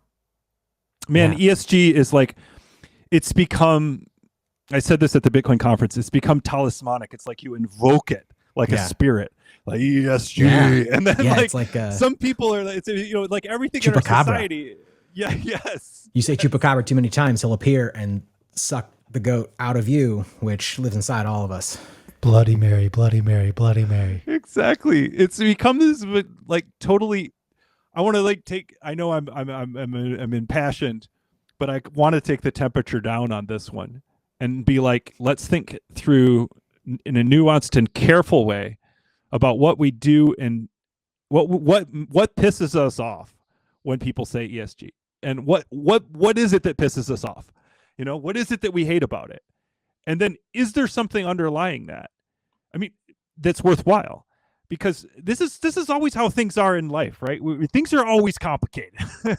Man, yeah. E S G is like, it's become, I said this at the Bitcoin conference, it's become talismanic. It's like you invoke it like Yeah. a spirit, like E S G. Yeah. And then Yeah, like, it's like, uh, some people are, it's, you know, like everything in our Chupacabra. society. Yeah, yes. You say Chupacabra too many times, he'll appear and suck the goat out of you, which lives inside all of us. Bloody Mary, Bloody Mary, Bloody Mary. Exactly. It's become this like totally, I want to like take, I know I'm, I'm, I'm, I'm, I'm impassioned, but I want to take the temperature down on this one and be like, let's think through in a nuanced and careful way about what we do and what, what, what pisses us off when people say E S G, and what, what, what is it that pisses us off? You know, what is it that we hate about it? And then is there something underlying that? I mean, that's worthwhile, because this is this is always how things are in life, right? We, things are always complicated.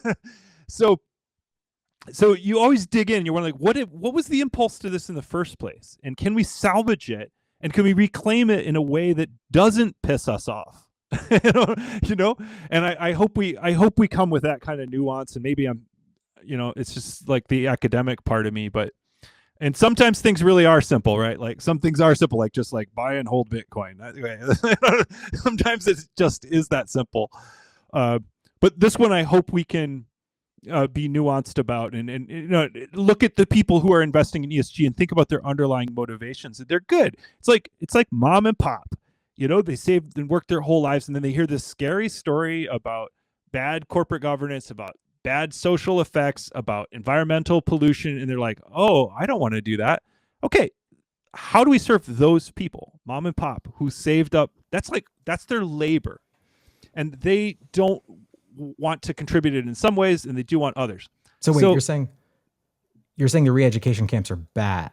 so so you always dig in. You're wondering, like, what if, what was the impulse to this in the first place? And can we salvage it? And can we reclaim it in a way that doesn't piss us off? you know, you know? And I, I hope we I hope we come with that kind of nuance. And maybe I'm, you know, it's just like the academic part of me, but and sometimes things really are simple, right? Like some things are simple, like just like buy and hold Bitcoin. Sometimes it just is that simple. Uh, but this one, I hope we can uh, be nuanced about, and, and you know, look at the people who are investing in E S G and think about their underlying motivations. They're good. It's like it's like mom and pop. You know, they saved and worked their whole lives, and then they hear this scary story about bad corporate governance, about bad social effects, about environmental pollution, and they're like, oh, I don't want to do that. Okay, how do we serve those people, mom and pop, who saved up? That's like, that's their labor. And they don't want to contribute it in some ways, and they do want others. So wait, So- you're saying you're saying the re-education camps are bad?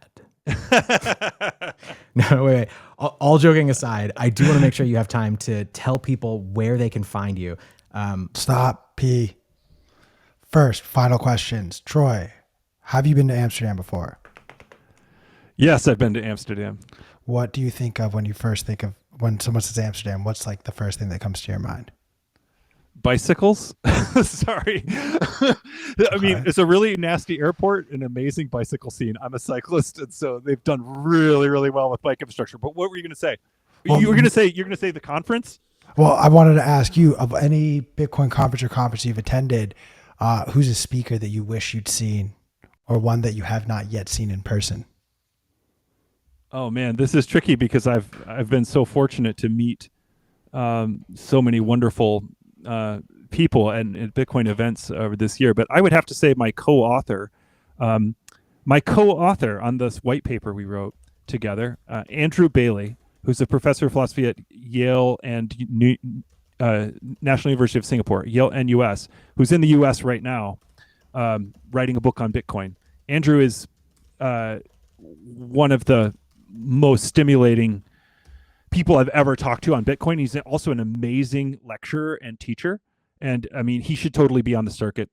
No, wait, wait. All, all joking aside, I do want to make sure you have time to tell people where they can find you. Um, Stop, P. First, final questions. Troy, have you been to Amsterdam before? Yes, I've been to Amsterdam. What do you think of when you first think of when someone says Amsterdam? What's like the first thing that comes to your mind? Bicycles. Sorry. I mean, it's a really nasty airport, an amazing bicycle scene. I'm a cyclist, and so they've done really, really well with bike infrastructure. But what were you going to say? Well, you were going to say you're going to say the conference? Well, I wanted to ask you, of any Bitcoin conference or conference you've attended, uh, who's a speaker that you wish you'd seen, or one that you have not yet seen in person? Oh man, this is tricky because I've I've been so fortunate to meet um, so many wonderful uh, people and at Bitcoin events over this year. But I would have to say my co-author, um, my co-author on this white paper we wrote together, uh, Andrew Bailey, who's a professor of philosophy at Yale and New, uh, National University of Singapore, Yale N U S, who's in the U S right now, um, writing a book on Bitcoin. Andrew is uh, one of the most stimulating people I've ever talked to on Bitcoin. He's also an amazing lecturer and teacher. And I mean, he should totally be on the circuit.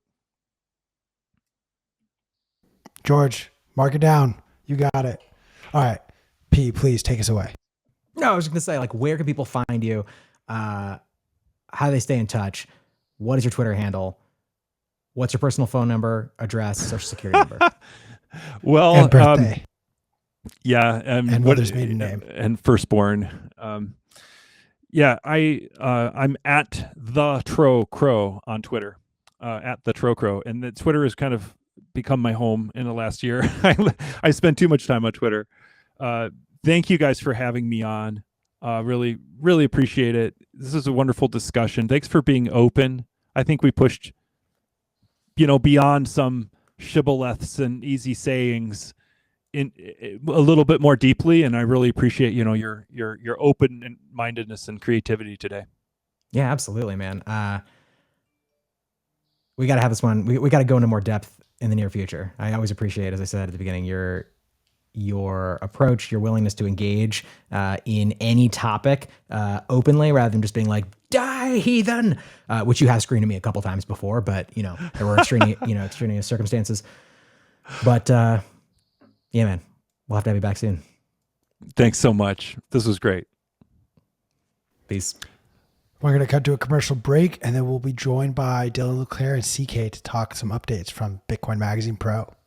George, mark it down. You got it. All right. P, please take us away. no, I was going to say, like, where can people find you? Uh, how do they stay in touch? What is your Twitter handle? What's your personal phone number, address, social security number? Well, And birthday. um, yeah, um, And what- mother's maiden name. and firstborn. Um, yeah, I uh, I'm at the Tro Crow on Twitter, uh, at the Tro Crow, and the Twitter has kind of become my home in the last year. I I spend too much time on Twitter. Uh, thank you guys for having me on. Uh, really, really appreciate it. This is a wonderful discussion. Thanks for being open. I think we pushed, you know, beyond some shibboleths and easy sayings in, in a little bit more deeply, and I really appreciate, you know, your your your open mindedness and creativity today. Yeah, absolutely, man. Uh, we got to have this one. We, we got to go into more depth in the near future. I always appreciate, as I said at the beginning, your your approach, your willingness to engage uh, in any topic uh, openly, rather than just being like, "Die, heathen," uh, which you have screamed at me a couple times before. But you know, there were extraneous, you know, extraneous circumstances. But uh, yeah, man, we'll have to have you back soon. Thanks so much. This was great. Peace. We're going to cut to a commercial break, and then we'll be joined by Dylan Leclerc and C K to talk some updates from Bitcoin Magazine Pro.